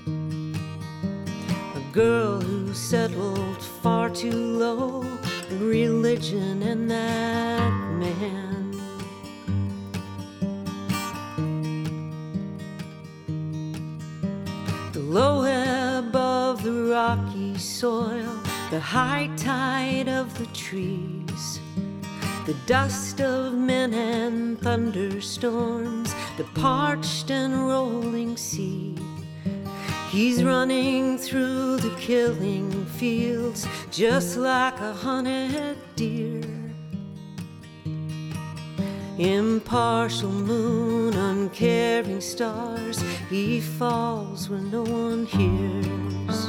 A girl who settled far too low, religion and that man. The low ebb of the rocky soil, the high tide of the trees, the dust of men and thunderstorms, the parched and rolling sea. He's running through the killing fields just like a hunted deer. Impartial moon, uncaring stars, he falls when no one hears.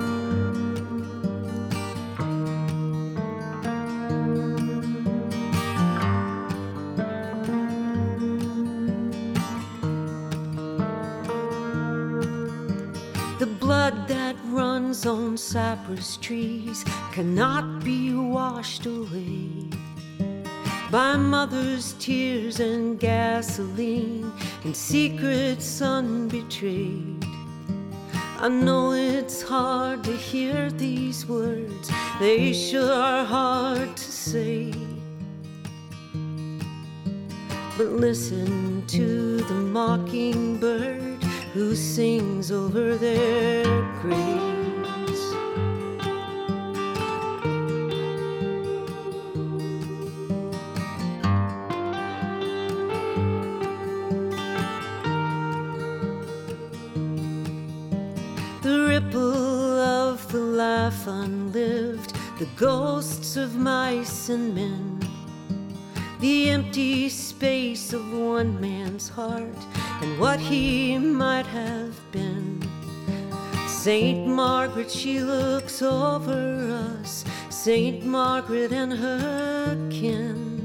The blood that runs on cypress trees cannot be washed away by mother's tears and gasoline and secrets unbetrayed. I know it's hard to hear these words, they sure are hard to say. But listen to the mockingbird who sings over their graves. The ripple of the life unlived, the ghosts of mice and men, the empty space of one man's heart and what he might have been. Saint Margaret, she looks over us, Saint Margaret and her kin.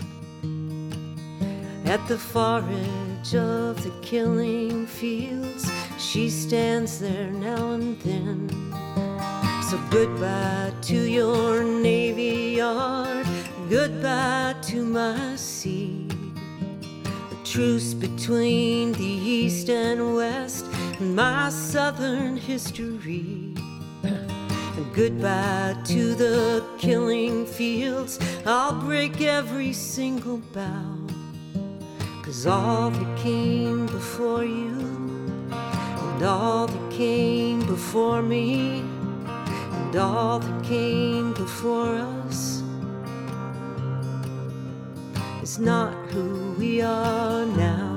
At the far edge of the killing fields, she stands there now and then. So goodbye to your Navy Yard, goodbye to my sea. Truce between the East and West and my Southern history. And goodbye to the killing fields, I'll break every single bough. 'Cause all that came before you and all that came before me and all that came before us is not who we are now.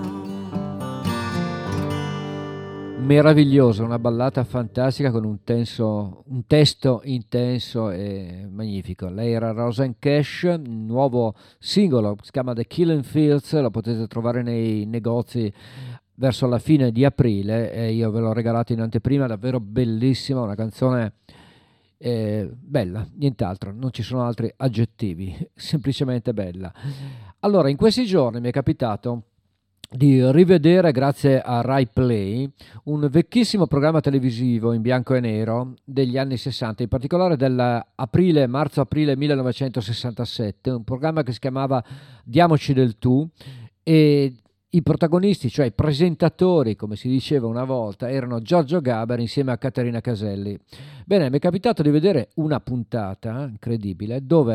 Meravigliosa, una ballata fantastica con un, tenso, un testo intenso e magnifico. Lei era Rosanne Cash, un nuovo singolo, si chiama The Killing Fields, lo potete trovare nei negozi verso la fine di aprile e io ve l'ho regalato in anteprima, davvero bellissima, una canzone eh, bella, nient'altro, non ci sono altri aggettivi, semplicemente bella. Allora, in questi giorni mi è capitato di rivedere, grazie a Rai Play, un vecchissimo programma televisivo in bianco e nero degli anni sessanta, in particolare dell'aprile, marzo-aprile millenovecentosessantasette, un programma che si chiamava Diamoci del tu, e i protagonisti, cioè i presentatori, come si diceva una volta, erano Giorgio Gaber insieme a Caterina Caselli. Bene, mi è capitato di vedere una puntata incredibile dove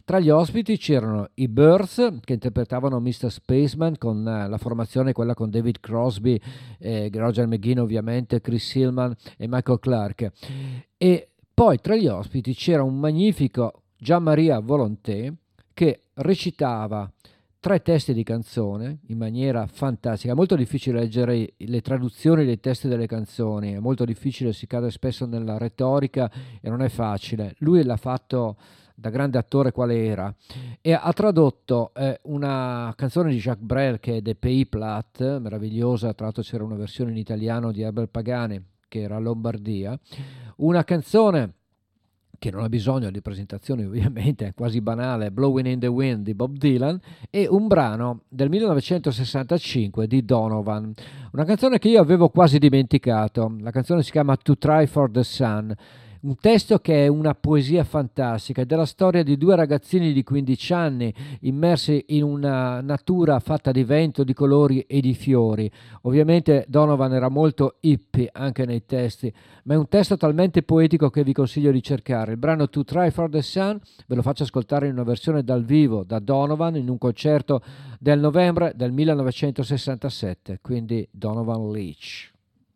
Tra gli ospiti c'erano i Birds, che interpretavano mister Spaceman con eh, la formazione quella con David Crosby, eh, Roger McGuinn ovviamente, Chris Hillman e Michael Clarke. E poi tra gli ospiti c'era un magnifico Gian-Maria Volonté che recitava tre testi di canzone in maniera fantastica. È molto difficile leggere le traduzioni dei testi delle canzoni, è molto difficile, si cade spesso nella retorica e non è facile. Lui l'ha fatto da grande attore quale era, e ha tradotto eh, una canzone di Jacques Brel che è De Pays Plat, meravigliosa. Tra l'altro c'era una versione in italiano di Herbert Pagani che era Lombardia, una canzone che non ha bisogno di presentazioni ovviamente, è quasi banale, Blowing in the Wind di Bob Dylan, e un brano del millenovecentosessantacinque di Donovan, una canzone che io avevo quasi dimenticato. La canzone si chiama To Try for the Sun, un testo che è una poesia fantastica, è della storia di due ragazzini di quindici anni immersi in una natura fatta di vento, di colori e di fiori. Ovviamente Donovan era molto hippie anche nei testi, ma è un testo talmente poetico che vi consiglio di cercare. Il brano To Try for the Sun ve lo faccio ascoltare in una versione dal vivo da Donovan in un concerto del novembre del millenovecentosessantasette, quindi Donovan Leitch.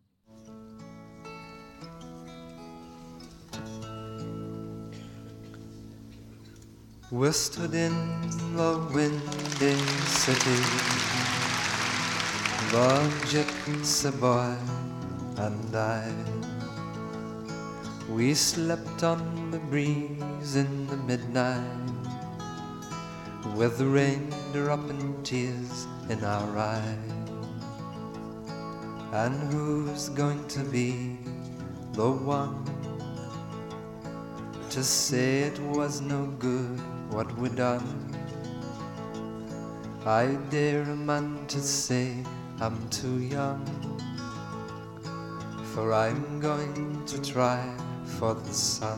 We stood in the windy city, the gypsy boy and I. We slept on the breeze in the midnight, with the raindrop and tears in our eyes. And who's going to be the one to say it was no good what we done? I dare a man to say I'm too young, for I'm going to try for the sun.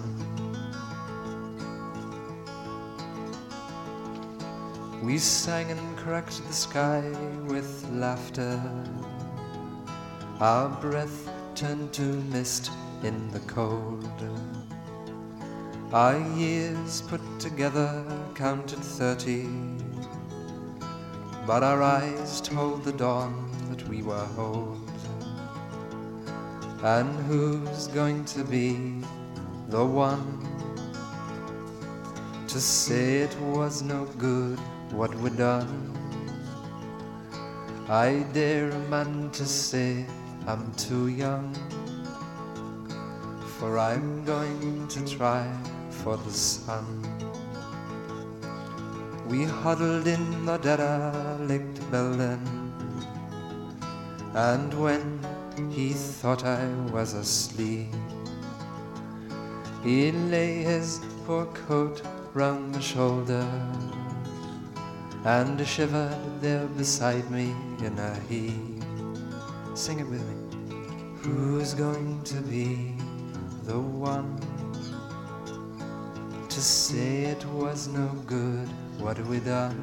We sang and cracked the sky with laughter, our breath turned to mist in the cold. Our years put together counted thirty, but our eyes told the dawn that we were old. And who's going to be the one to say it was no good what we done? I dare a man to say I'm too young, for I'm going to try for the sun. We huddled in the derelict building, and when he thought I was asleep, he lay his poor coat round my shoulder and shivered there beside me in a heap. Sing it with me. Who's going to be the one to say it was no good what we done?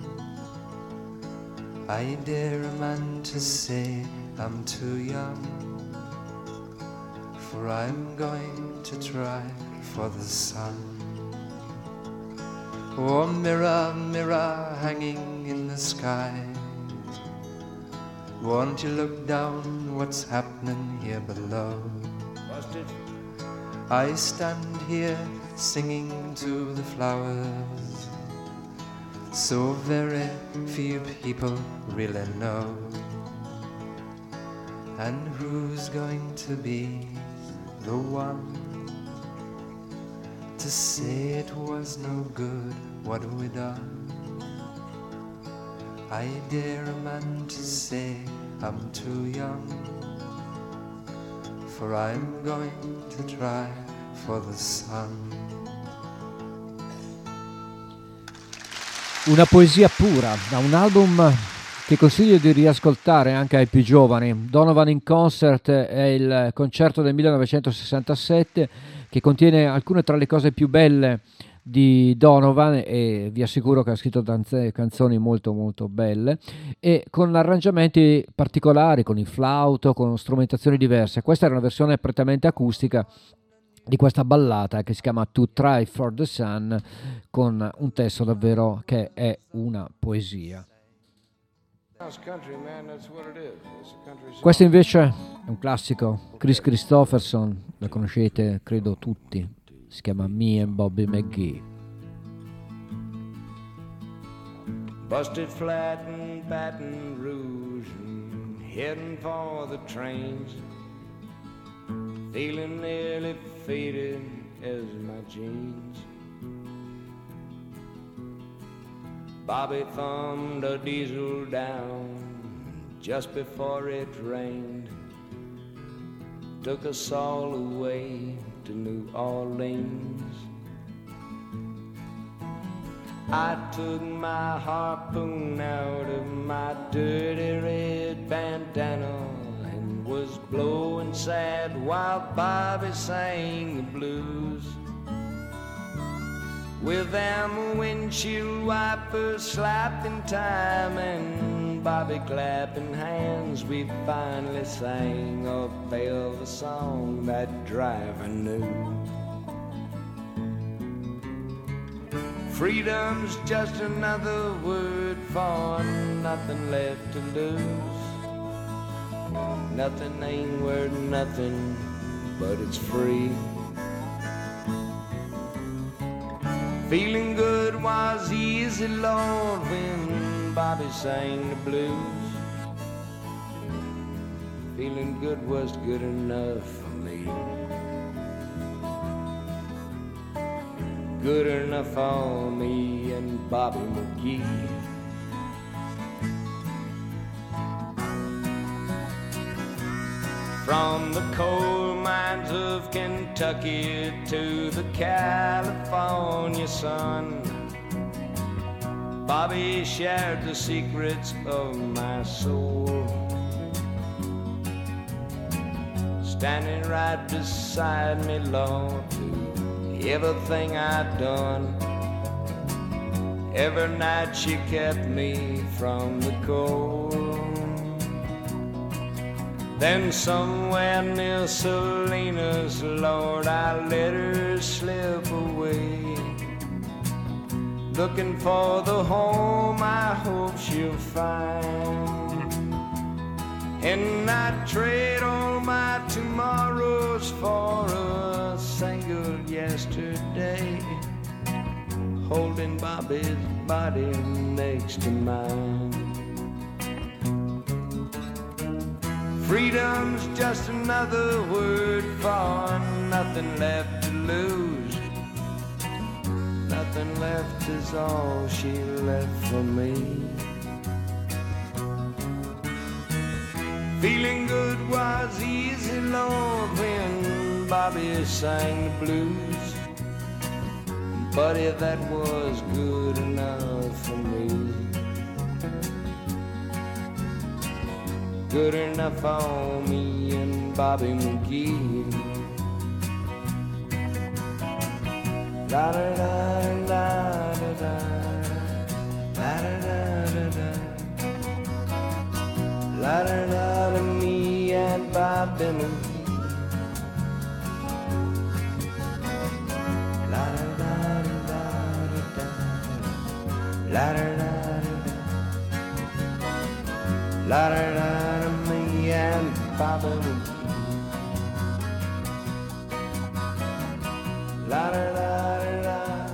I dare a man to say I'm too young, for I'm going to try for the sun. Oh, mirror, mirror hanging in the sky, won't you look down what's happening here below? I stand here singing to the flowers, so very few people really know. And who's going to be the one to say it was no good what we done? I dare a man to say I'm too young, for I'm going to try for the sun. Una poesia pura, da un album che consiglio di riascoltare anche ai più giovani. Donovan in Concert è il concerto del millenovecentosessantasette che contiene alcune tra le cose più belle di Donovan, e vi assicuro che ha scritto tante canzoni molto molto belle e con arrangiamenti particolari, con il flauto, con strumentazioni diverse. Questa era una versione prettamente acustica di questa ballata che si chiama To Try for the Sun, con un testo davvero che è una poesia. Questo invece è un classico, Chris Christopherson, la conoscete credo tutti, si chiama Me and Bobby McGee. Busted flat in Baton Rouge and heading for the trains, feeling nearly faded as my jeans. Bobby thumbed a diesel down just before it rained, took us all away to New Orleans. I took my harpoon out of my dirty red bandana and was blowing sad while Bobby sang the blues. With them windshield wipers slapping time and Bobby clapping hands, we finally sang a velvet song that driver knew. Freedom's just another word for nothing left to lose. Nothing ain't worth nothing, but it's free. Feeling good was easy, Lord, when Bobby sang the blues. Feeling good was good enough for me. Good enough for me and Bobby McGee. From the coal mines of Kentucky to the California sun, Bobby shared the secrets of my soul, standing right beside me, Lord, through everything I'd done. Every night she kept me from the cold. Then somewhere near Salinas, Lord, I let her slip away, looking for the home I hope she'll find. And I'd trade all my tomorrows for a single yesterday, holding Bobby's body next to mine. Freedom's just another word for nothing left to lose. Nothing left is all she left for me. Feeling good was easy, Lord, when Bobby sang the blues. Buddy, that was good enough for me. Good enough for me and Bobby McGee. La da da da da da, la da da da da, la da da da, me and Bobby McGee. La da da da da da, la da da da da, la da da. And Bobby McGee. La da da da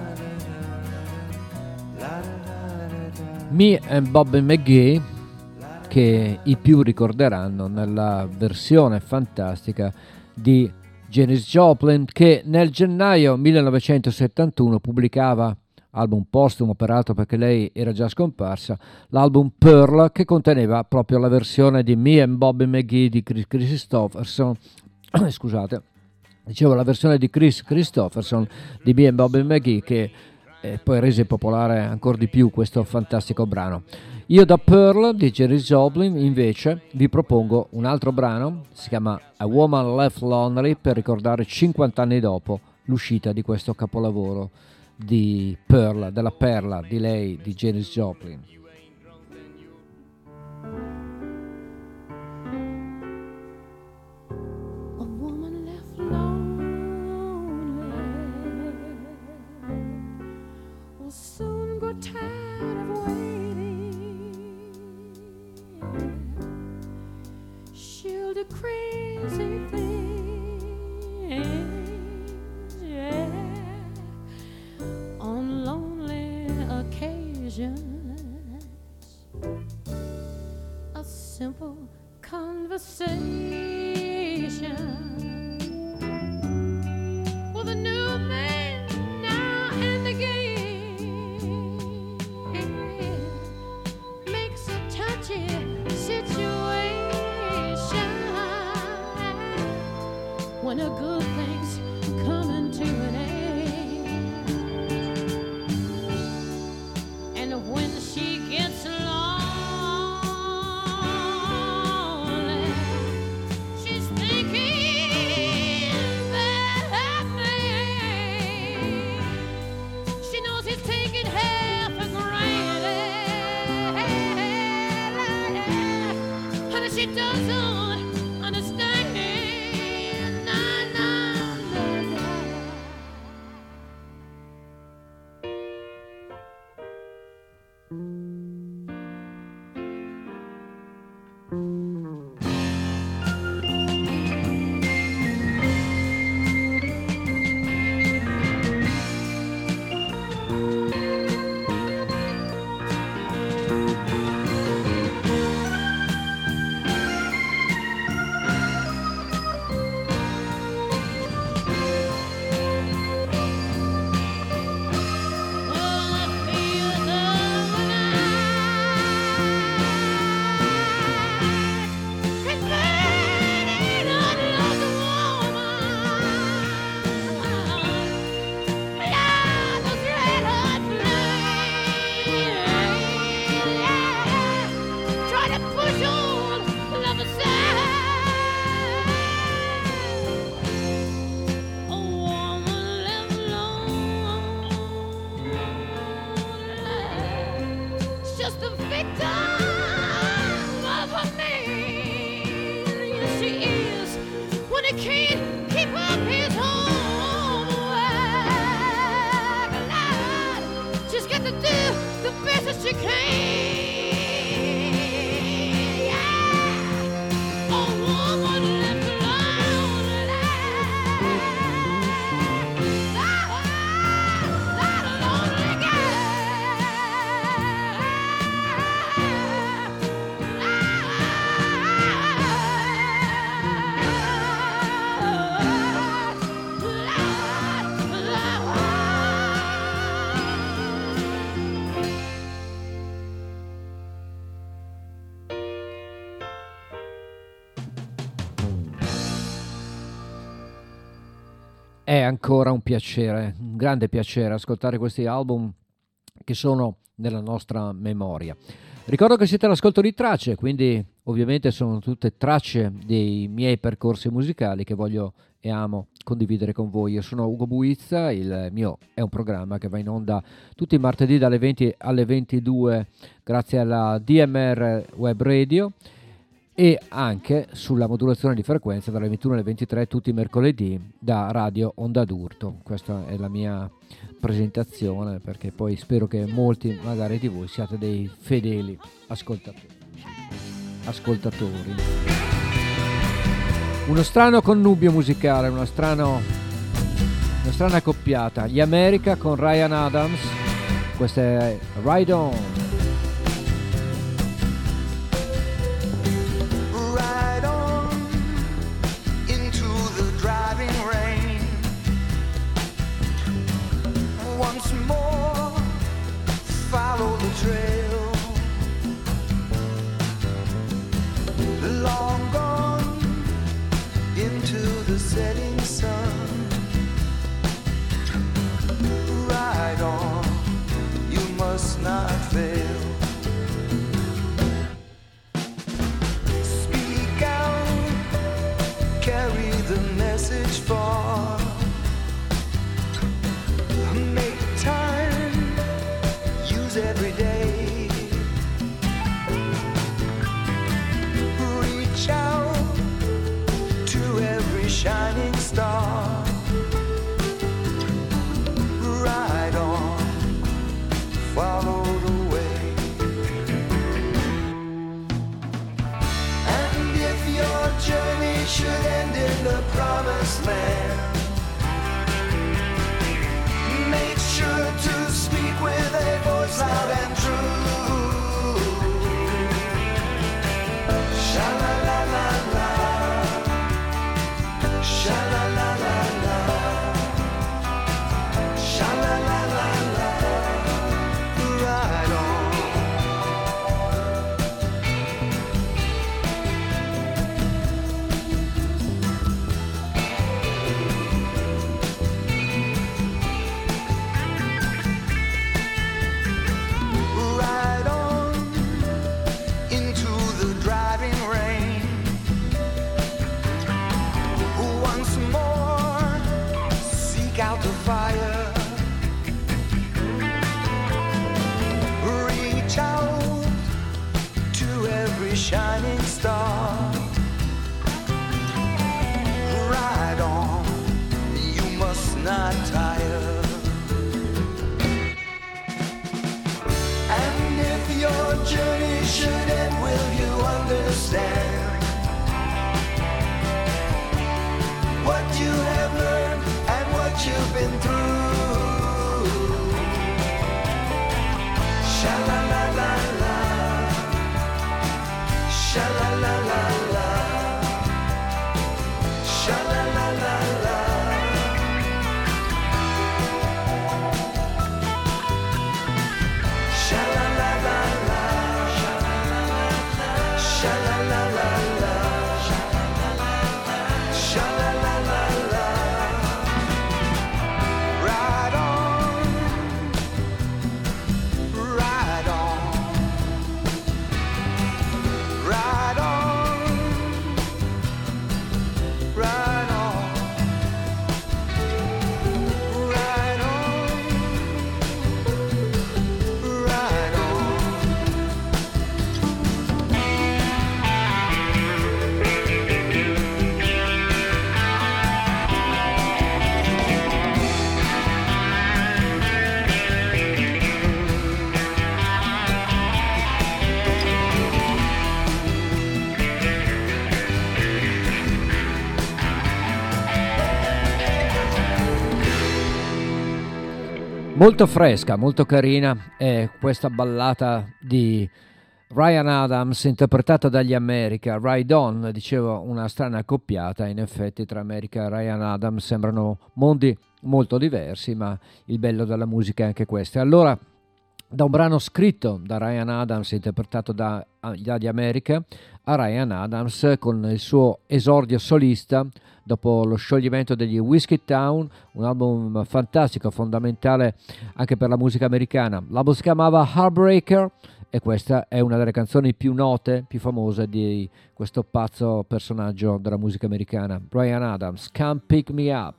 da da. Me and Bobby McGee, che i più ricorderanno nella versione fantastica di Janis Joplin, che nel gennaio millenovecentosettantuno pubblicava, album postumo peraltro perché lei era già scomparsa, l'album Pearl, che conteneva proprio la versione di Me and Bobby McGee di Chris Christopherson. Scusate, dicevo la versione di Chris Christopherson di Me and Bobby McGee, che eh, poi rese popolare ancora di più questo fantastico brano. Io da Pearl di Janis Joplin invece vi propongo un altro brano, si chiama A Woman Left Lonely, per ricordare cinquanta anni dopo l'uscita di questo capolavoro di Pearl, della perla di lei, di Janis Joplin. A woman left alone the crazy things, yeah, on lonely occasions. A simple conversation with a new man now and again makes a touchy situation when a good thing's coming to an end, and when she gets lonely, she's thinking that man. She knows he's taking her for granted, and she doesn't understand. Nah, nah, nah, nah. È ancora un piacere, un grande piacere ascoltare questi album che sono nella nostra memoria. Ricordo che siete all'ascolto di tracce, quindi ovviamente sono tutte tracce dei miei percorsi musicali che voglio e amo condividere con voi. Io sono Ugo Buizza, il mio è un programma che va in onda tutti i martedì dalle venti alle ventidue grazie alla D M R Web Radio, e anche sulla modulazione di frequenza dalle ventuno alle ventitré tutti i mercoledì da Radio Onda d'Urto. Questa è la mia presentazione, perché poi spero che molti magari di voi siate dei fedeli ascoltatori. ascoltatori. Uno strano connubio musicale, uno strano, una strana accoppiata. Gli America con Ryan Adams, questa è Ride On. Follow the trail, long gone into the setting sun. Ride on, you must not fail. should end in the promised land. Make sure to speak with a voice loud and true. Sha-la-la-la-la, sha-la-la-la-la, sha-la-la-la-la, right on. Ride on into the driving rain. Once more, seek out the fire. Reach out to every shining star. Ride on, you must not tire. And if your journey should end, will you understand what you have learned and what you've been through? Sha-la-la-la-la, sha-la-la-la-la, sha-la-la-la-la. Sha-la-la-la-la, sha-la-la-la-la, sha-la-la-la-la. Ride on, ride on, ride on, ride on, ride on, ride on. Molto fresca, molto carina è questa ballata di Ryan Adams interpretata dagli America. Ride On, dicevo, una strana accoppiata. In effetti tra America e Ryan Adams sembrano mondi molto diversi, ma il bello della musica è anche questo. E allora, da un brano scritto da Ryan Adams interpretato da, dagli America, a Ryan Adams con il suo esordio solista dopo lo scioglimento degli Whiskey Town, un album fantastico, fondamentale anche per la musica americana. L'album si chiamava Heartbreaker e questa è una delle canzoni più note, più famose di questo pazzo personaggio della musica americana, Ryan Adams, Come Pick Me Up.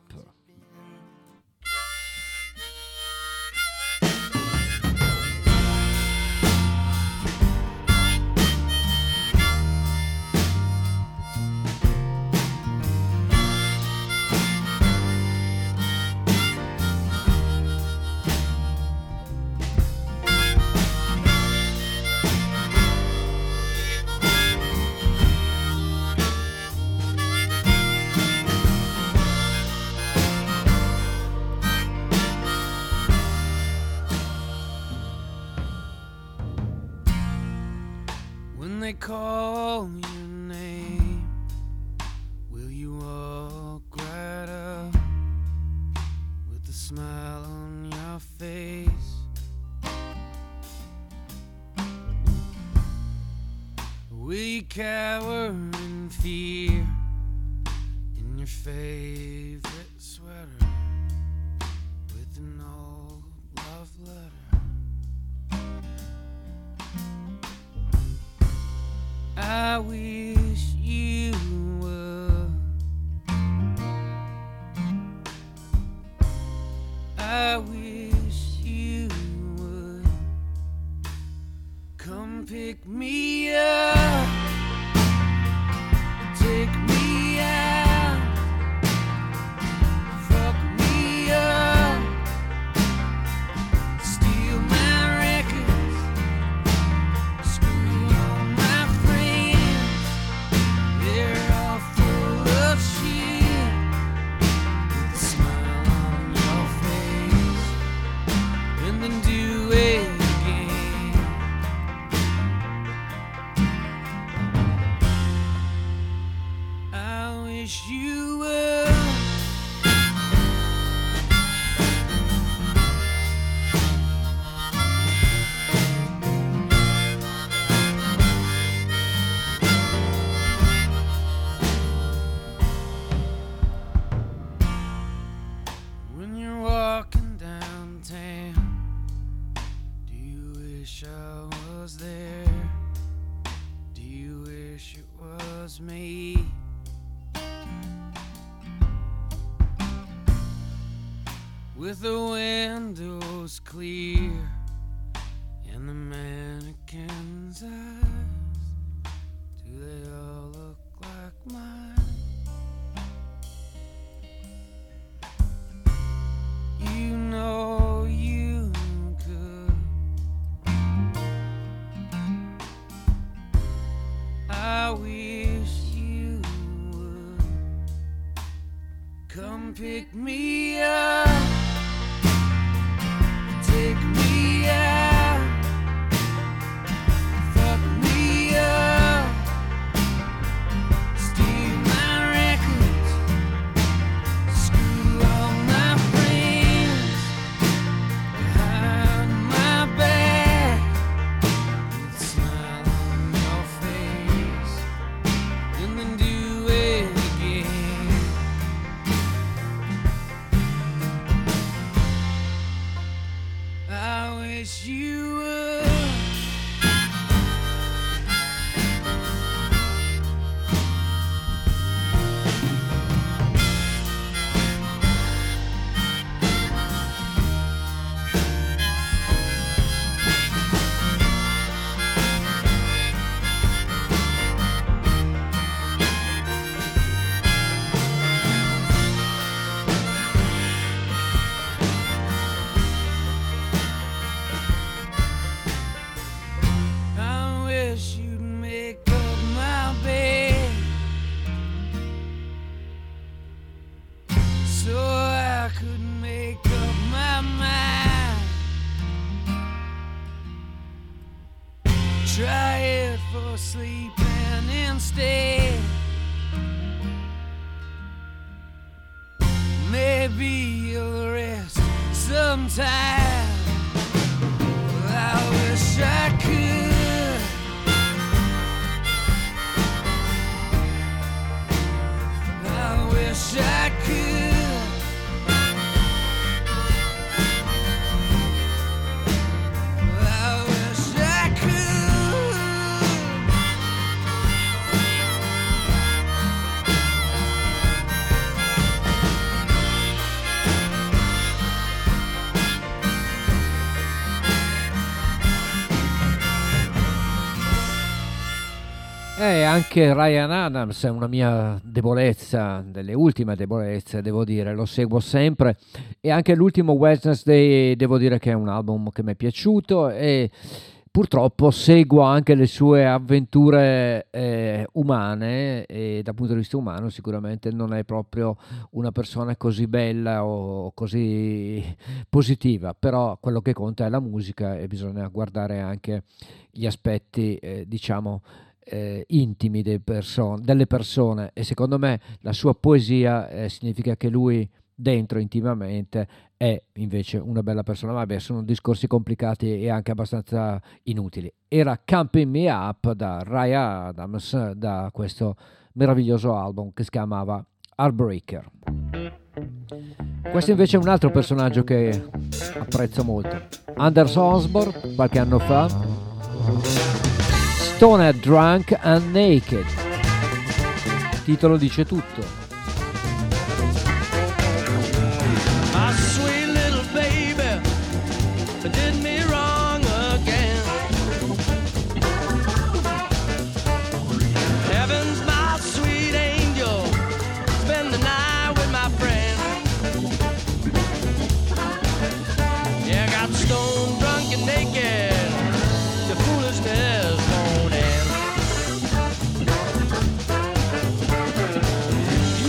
They call your name, will you walk right up with a smile on your face? Will you cower in fear in your favorite sweater with an old love letter? I wish you would. I wish you would come pick me up, take me out, fuck me up, steal my records, screw all my friends, they're all full with the windows clear and the mannequin's eyes, do they all look like mine? You know you could. I wish you would come pick me up, take me out, fuck me up, steal my records, screw all my friends, behind my back, with a smile on your face, and then do it again. I wish you would. I wish you'd make up my bed so I could make up my mind. Try it for sleeping instead. Maybe you'll rest sometime. I wish I could. I wish I could. I wish I could. E anche Ryan Adams è una mia debolezza, delle ultime debolezze, devo dire, lo seguo sempre. E anche l'ultimo Wednesday, devo dire che è un album che mi è piaciuto e purtroppo seguo anche le sue avventure eh, umane e dal punto di vista umano sicuramente non è proprio una persona così bella o così positiva, però quello che conta è la musica e bisogna guardare anche gli aspetti, eh, diciamo, eh, intimi dei perso- delle persone, e secondo me la sua poesia eh, significa che lui dentro intimamente è invece una bella persona. Vabbè, sono discorsi complicati e anche abbastanza inutili. Era Camping Me Up da Ryan Adams, da questo meraviglioso album che si chiamava Heartbreaker. Questo invece è un altro personaggio che apprezzo molto, Anders Osborne, qualche anno fa, Stoned, Drunk and Naked. Il titolo dice tutto. My sweet little baby did me wrong again. Heaven's my sweet angel, spend the night with my friend. Yeah, I got stoned, drunk and naked, the foolishness won't end.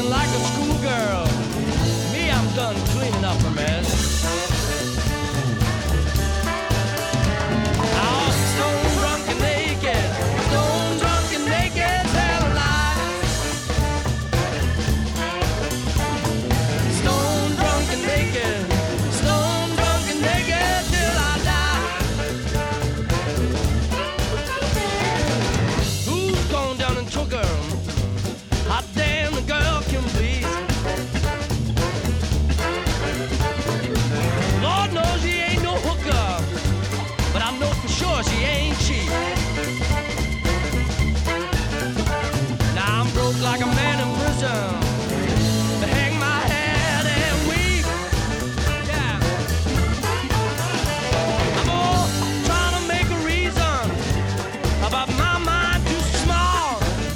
singing like a schoolgirl. Me, I'm done cleaning up a mess. Now, stone drunk and naked, stone drunk and naked, tell a lie. Stone drunk and naked, stone drunk and naked till I die. Who's gone down and took her? Hot damn, the girl can bleed. Lord knows she ain't no hooker, but I know for sure she ain't cheap. Now I'm broke like a man in prison. To hang my head and weep. Yeah. I'm all trying to make a reason about my mind too small.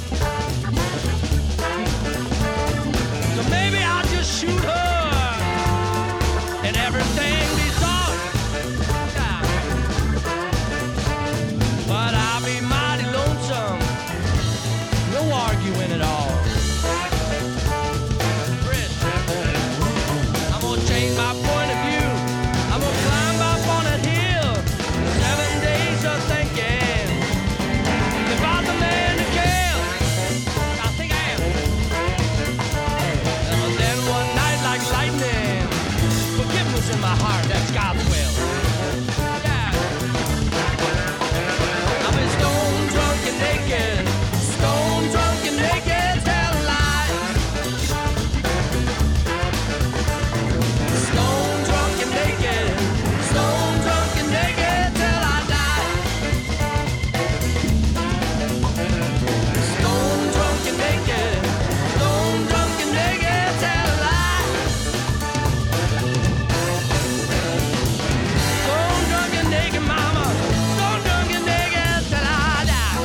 So maybe I'll just shoot her and everything be solved. Yeah. But I'll be mighty lonesome. No arguing at all. Chris, I'm gonna change my point of view. I'm gonna climb up on a hill. Seven days of thinking about the man who killed. I think I am. And then one night like lightning, forgiveness in my heart, that's God's will. Yeah. I've been stone drunk and naked, stone drunk and naked, tell a lie. Stone drunk and naked, stone drunk and naked till I die. Stone drunk and naked, stone drunk and naked, tell a lie. Stone drunk and naked, mama, stone drunk and naked till I die.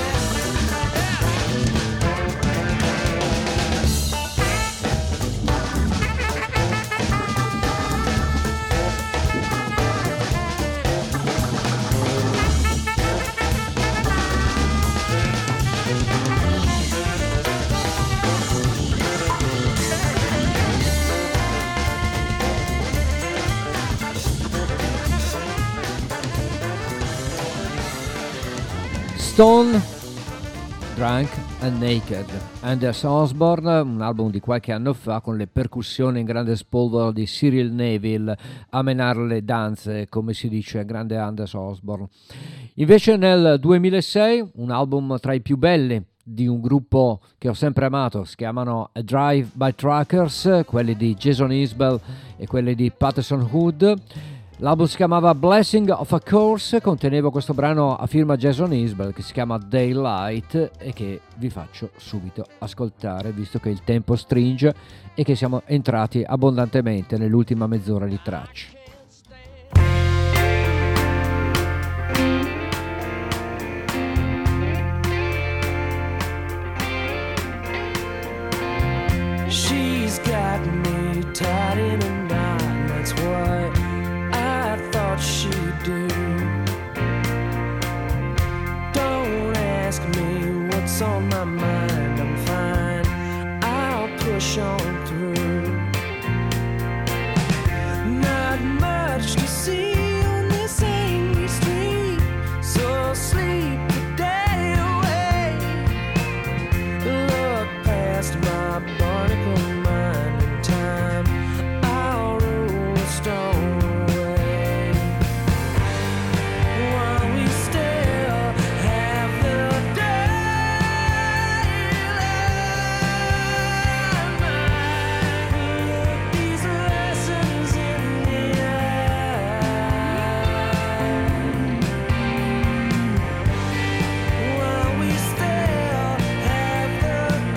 Stone, Drunk and Naked, Anders Osborne, un album di qualche anno fa con le percussioni in grande spolvero di Cyril Neville a menare le danze, come si dice, grande Anders Osborne. Invece nel duemilasei un album tra i più belli di un gruppo che ho sempre amato, si chiamano A Drive by Truckers, quelli di Jason Isbell e quelli di Patterson Hood. L'album si chiamava Blessing of a Course, conteneva questo brano a firma Jason Isbell che si chiama Daylight e che vi faccio subito ascoltare, visto che il tempo stringe e che siamo entrati abbondantemente nell'ultima mezz'ora di tracce. She's got me tied in a knot, that's what I thought she'd do. Don't ask me what's on my mind, I'm fine, I'll push on through. Not much to see on this angry street, so sleep the day away. Look past my barnacle mind in time, I'll roll a stone away. While we still have the daylight, these lessons in the eye. While we still have the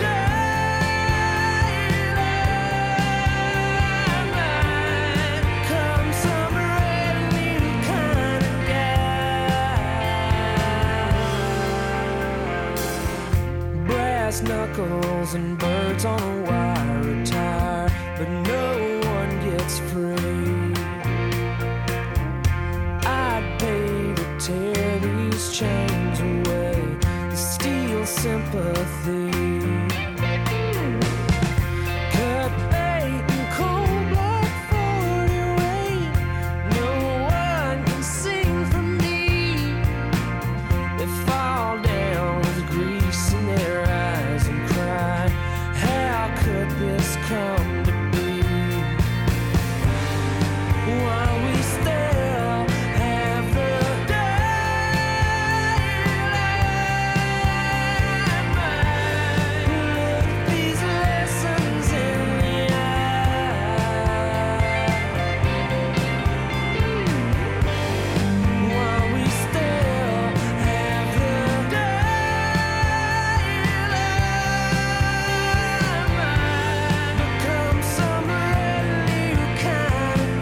daylight, come some brand new kind of guy. Brass knuckles and birds on a wire attire, but no one gets free. I'd pay to tear these chains away, to steal sympathy. come to be. While we still have the daylight mind, look these lessons in the eye. While we still have the daylight mind, become some brand new kind of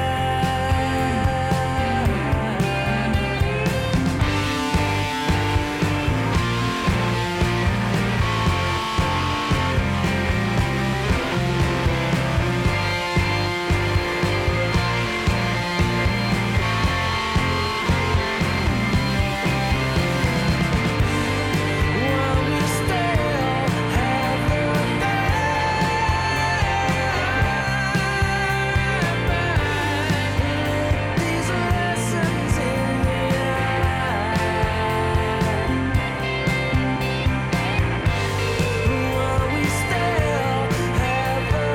while we still have the daylight, these lessons in the eye. While we still have the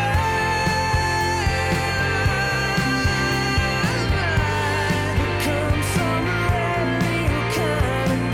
daylight, become some brand new kind of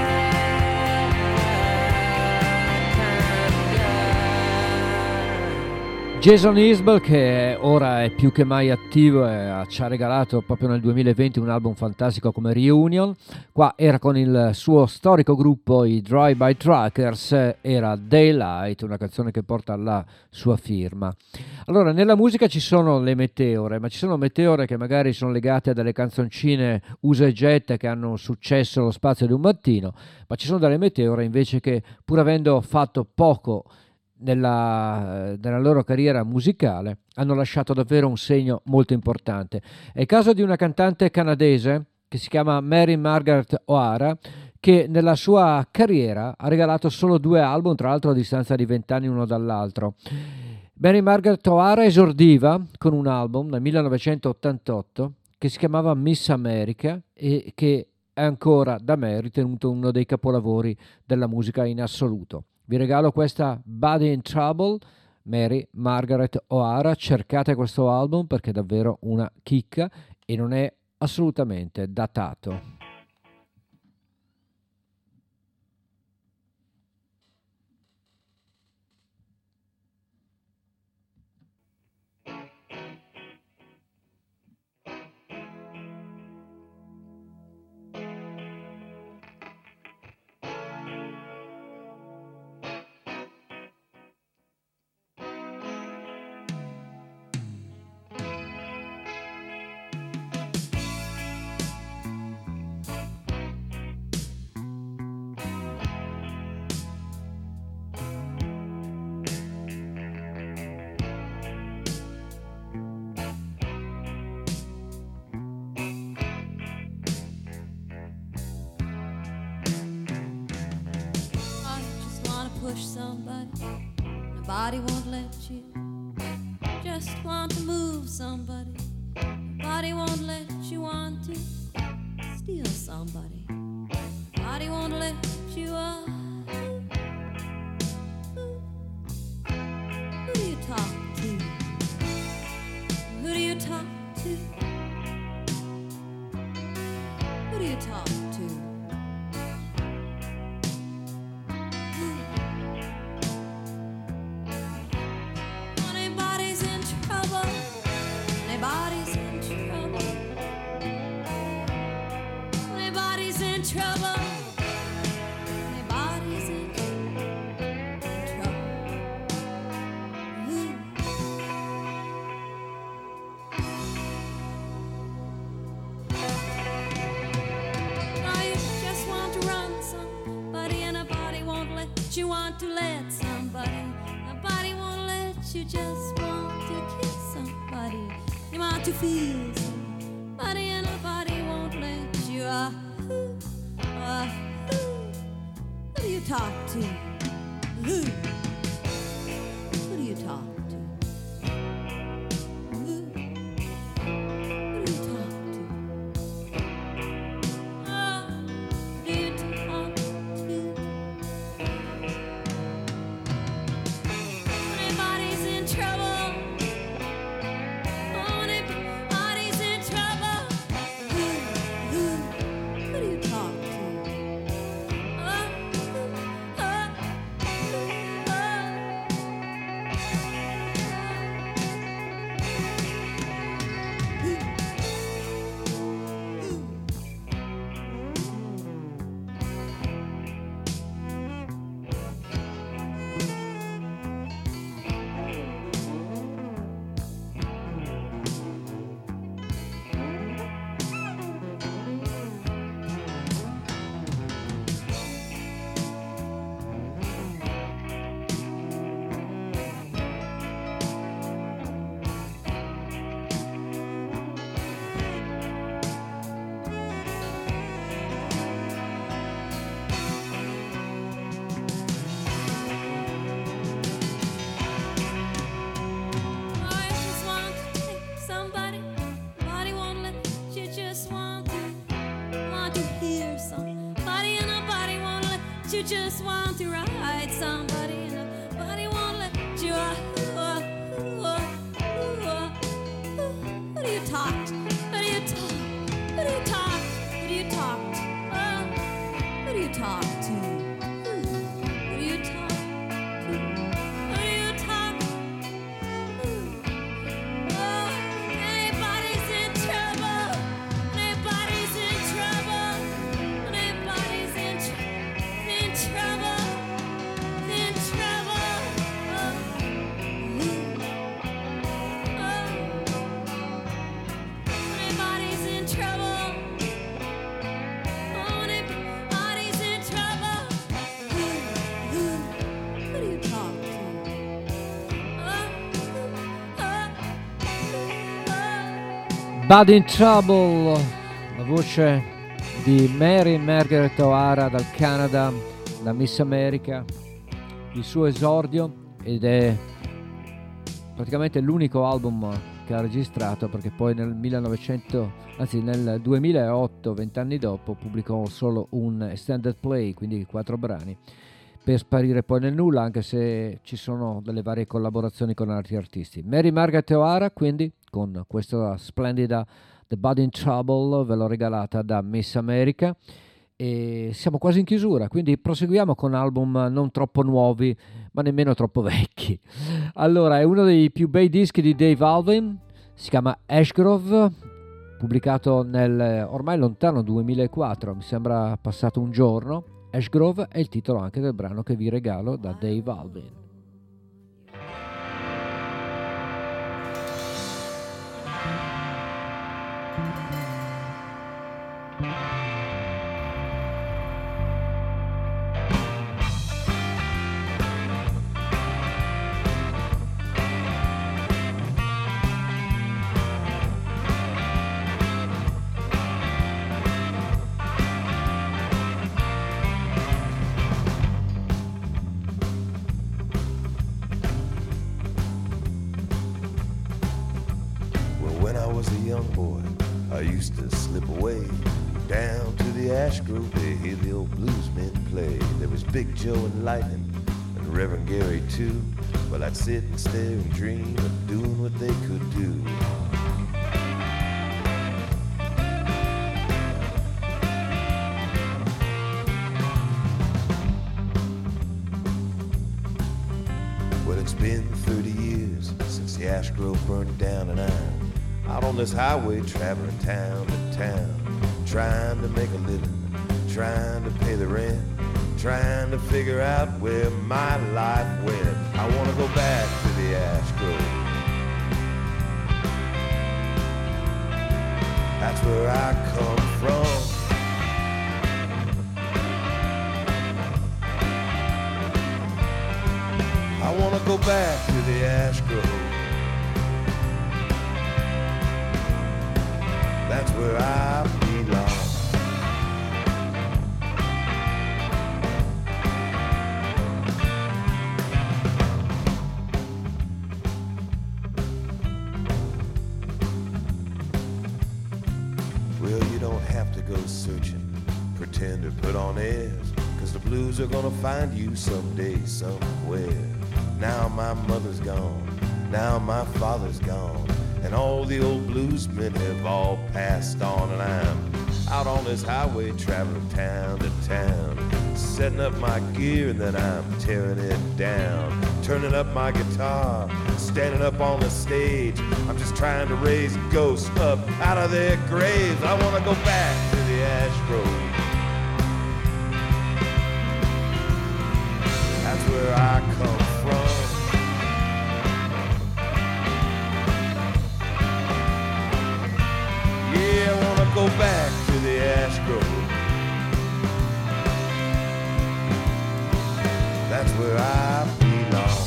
guy. Jason Isbell, che ora è più che mai attivo e ci ha regalato proprio nel duemilaventi un album fantastico come Reunion. Qua era con il suo storico gruppo, i Drive-By Truckers, era Daylight, una canzone che porta la sua firma. Allora, nella musica ci sono le meteore, ma ci sono meteore che magari sono legate a delle canzoncine usa e getta che hanno successo allo spazio di un mattino, ma ci sono delle meteore invece che, pur avendo fatto poco nella, nella loro carriera musicale, hanno lasciato davvero un segno molto importante. È il caso di una cantante canadese che si chiama Mary Margaret O'Hara, che nella sua carriera ha regalato solo due album, tra l'altro a distanza di vent'anni uno dall'altro. Mary Margaret O'Hara esordiva con un album nel millenovecentottantotto che si chiamava Miss America e che è ancora da me ritenuto uno dei capolavori della musica in assoluto. Vi regalo questa Body in Trouble, Mary Margaret O'Hara. Cercate questo album perché è davvero una chicca e non è assolutamente datato. Push somebody, nobody won't let you. Just want to move somebody, nobody won't let you. Want to steal somebody, nobody won't let you. Uh, who do you talk to? Who do you talk to? Who do you talk to? You want to let somebody, nobody won't let you. Just want to kiss somebody, you want to feel somebody, and nobody won't let you. Ah, who, ah, who, who do you talk to? Who? Who do you talk to? Who? Who do you talk to? Ah, who do you talk to? Anybody's let you just want to ride somebody, and nobody won't let you. Uh, uh, uh, uh, who do you talk to? Who do you talk? Who do you talk? Who do you talk to? Uh, who do you talk to? Who do you talk to? Who do you talk to? Oh, anybody's in trouble. Anybody's in trouble. Anybody's in, tr- in trouble. In trouble. Oh, oh. Anybody's in trouble. Oh, anybody's in trouble. Who, who, who do you talk to? Oh, oh, oh. Bad in Trouble, la voce di Mary Margaret O'Hara dal Canada, da Miss America, il suo esordio, ed è praticamente l'unico album che ha registrato, perché poi nel millenovecento, anzi nel duemilaotto, vent'anni dopo, pubblicò solo un extended play, quindi quattro brani, per sparire poi nel nulla, anche se ci sono delle varie collaborazioni con altri artisti. Mary Margaret O'Hara, quindi, con questa splendida The Bad in Trouble, ve l'ho regalata da Miss America, e siamo quasi in chiusura, quindi proseguiamo con album non troppo nuovi, ma nemmeno troppo vecchi. Allora, è uno dei più bei dischi di Dave Alvin, si chiama Ashgrove, pubblicato nel ormai lontano duemilaquattro, mi sembra passato un giorno. Ashgrove è il titolo anche del brano che vi regalo da Dave Alvin. I used to slip away down to the Ash Grove to hear the old bluesmen play. There was Big Joe and Lightning and Reverend Gary too. Well, I'd sit and stare and dream of doing what they could do. Well, it's been thirty years since the Ash Grove burned down, and I'm out on this highway traveling town to town, trying to make a living, trying to pay the rent, trying to figure out where my life went. I want to go back to the Ash Grove. That's where I come from. I want to go back to the Ash Grove. That's where I belong. Well, you don't have to go searching, pretend or put on airs, 'cause the blues are gonna find you someday, somewhere. Now my mother's gone, now my father's gone, and all the old bluesmen have all passed on, and I'm out on this highway traveling town to town, setting up my gear and then I'm tearing it down, turning up my guitar, standing up on the stage. I'm just trying to raise ghosts up out of their graves. I want to go back to the Ash Grove. That's where I come from. Yeah, I wanna go back to the Ash Grove. That's where I belong.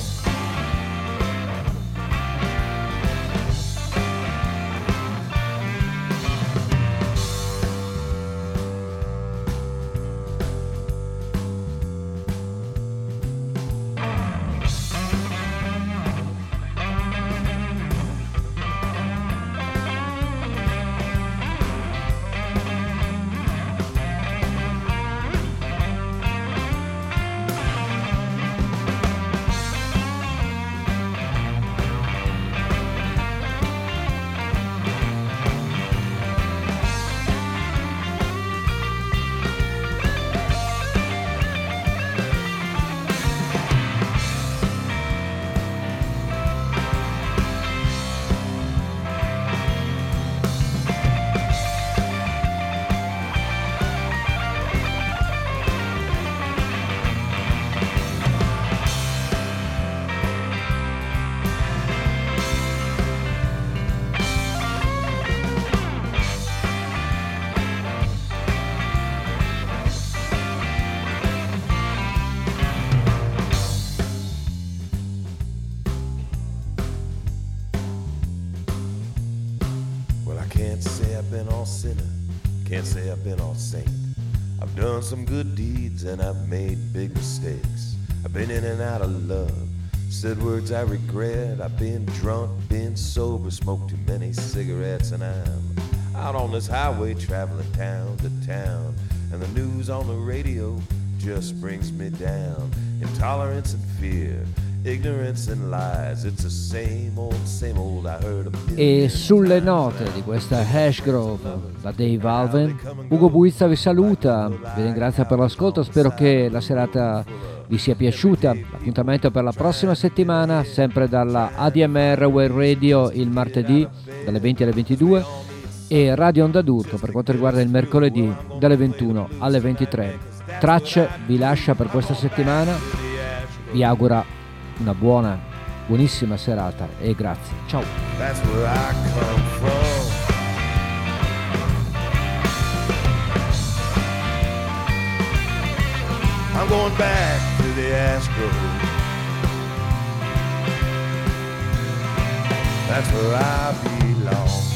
can't say I've been all sinner, can't say I've been all saint. I've done some good deeds and I've made big mistakes. I've been in and out of love, said words I regret. I've been drunk, been sober, smoked too many cigarettes, and I'm out on this highway traveling town to town, and the news on the radio just brings me down. Intolerance and fear, ignorance and lies, it's the same old, same old I heard a million E sulle note di questa Ashgrove da Dave Alvin, Ugo Buizza vi saluta, vi ringrazio per l'ascolto, spero che la serata vi sia piaciuta. L'appuntamento per la prossima settimana, sempre dalla A D M R Web Radio il martedì dalle venti alle ventidue e Radio Onda d'Urto per quanto riguarda il mercoledì dalle ventuno alle ventitré. Tracce vi lascia per questa settimana, vi augura una buona, buonissima serata e grazie. Ciao. That's where I come from. I'm going back to the Astros. That's where I belong.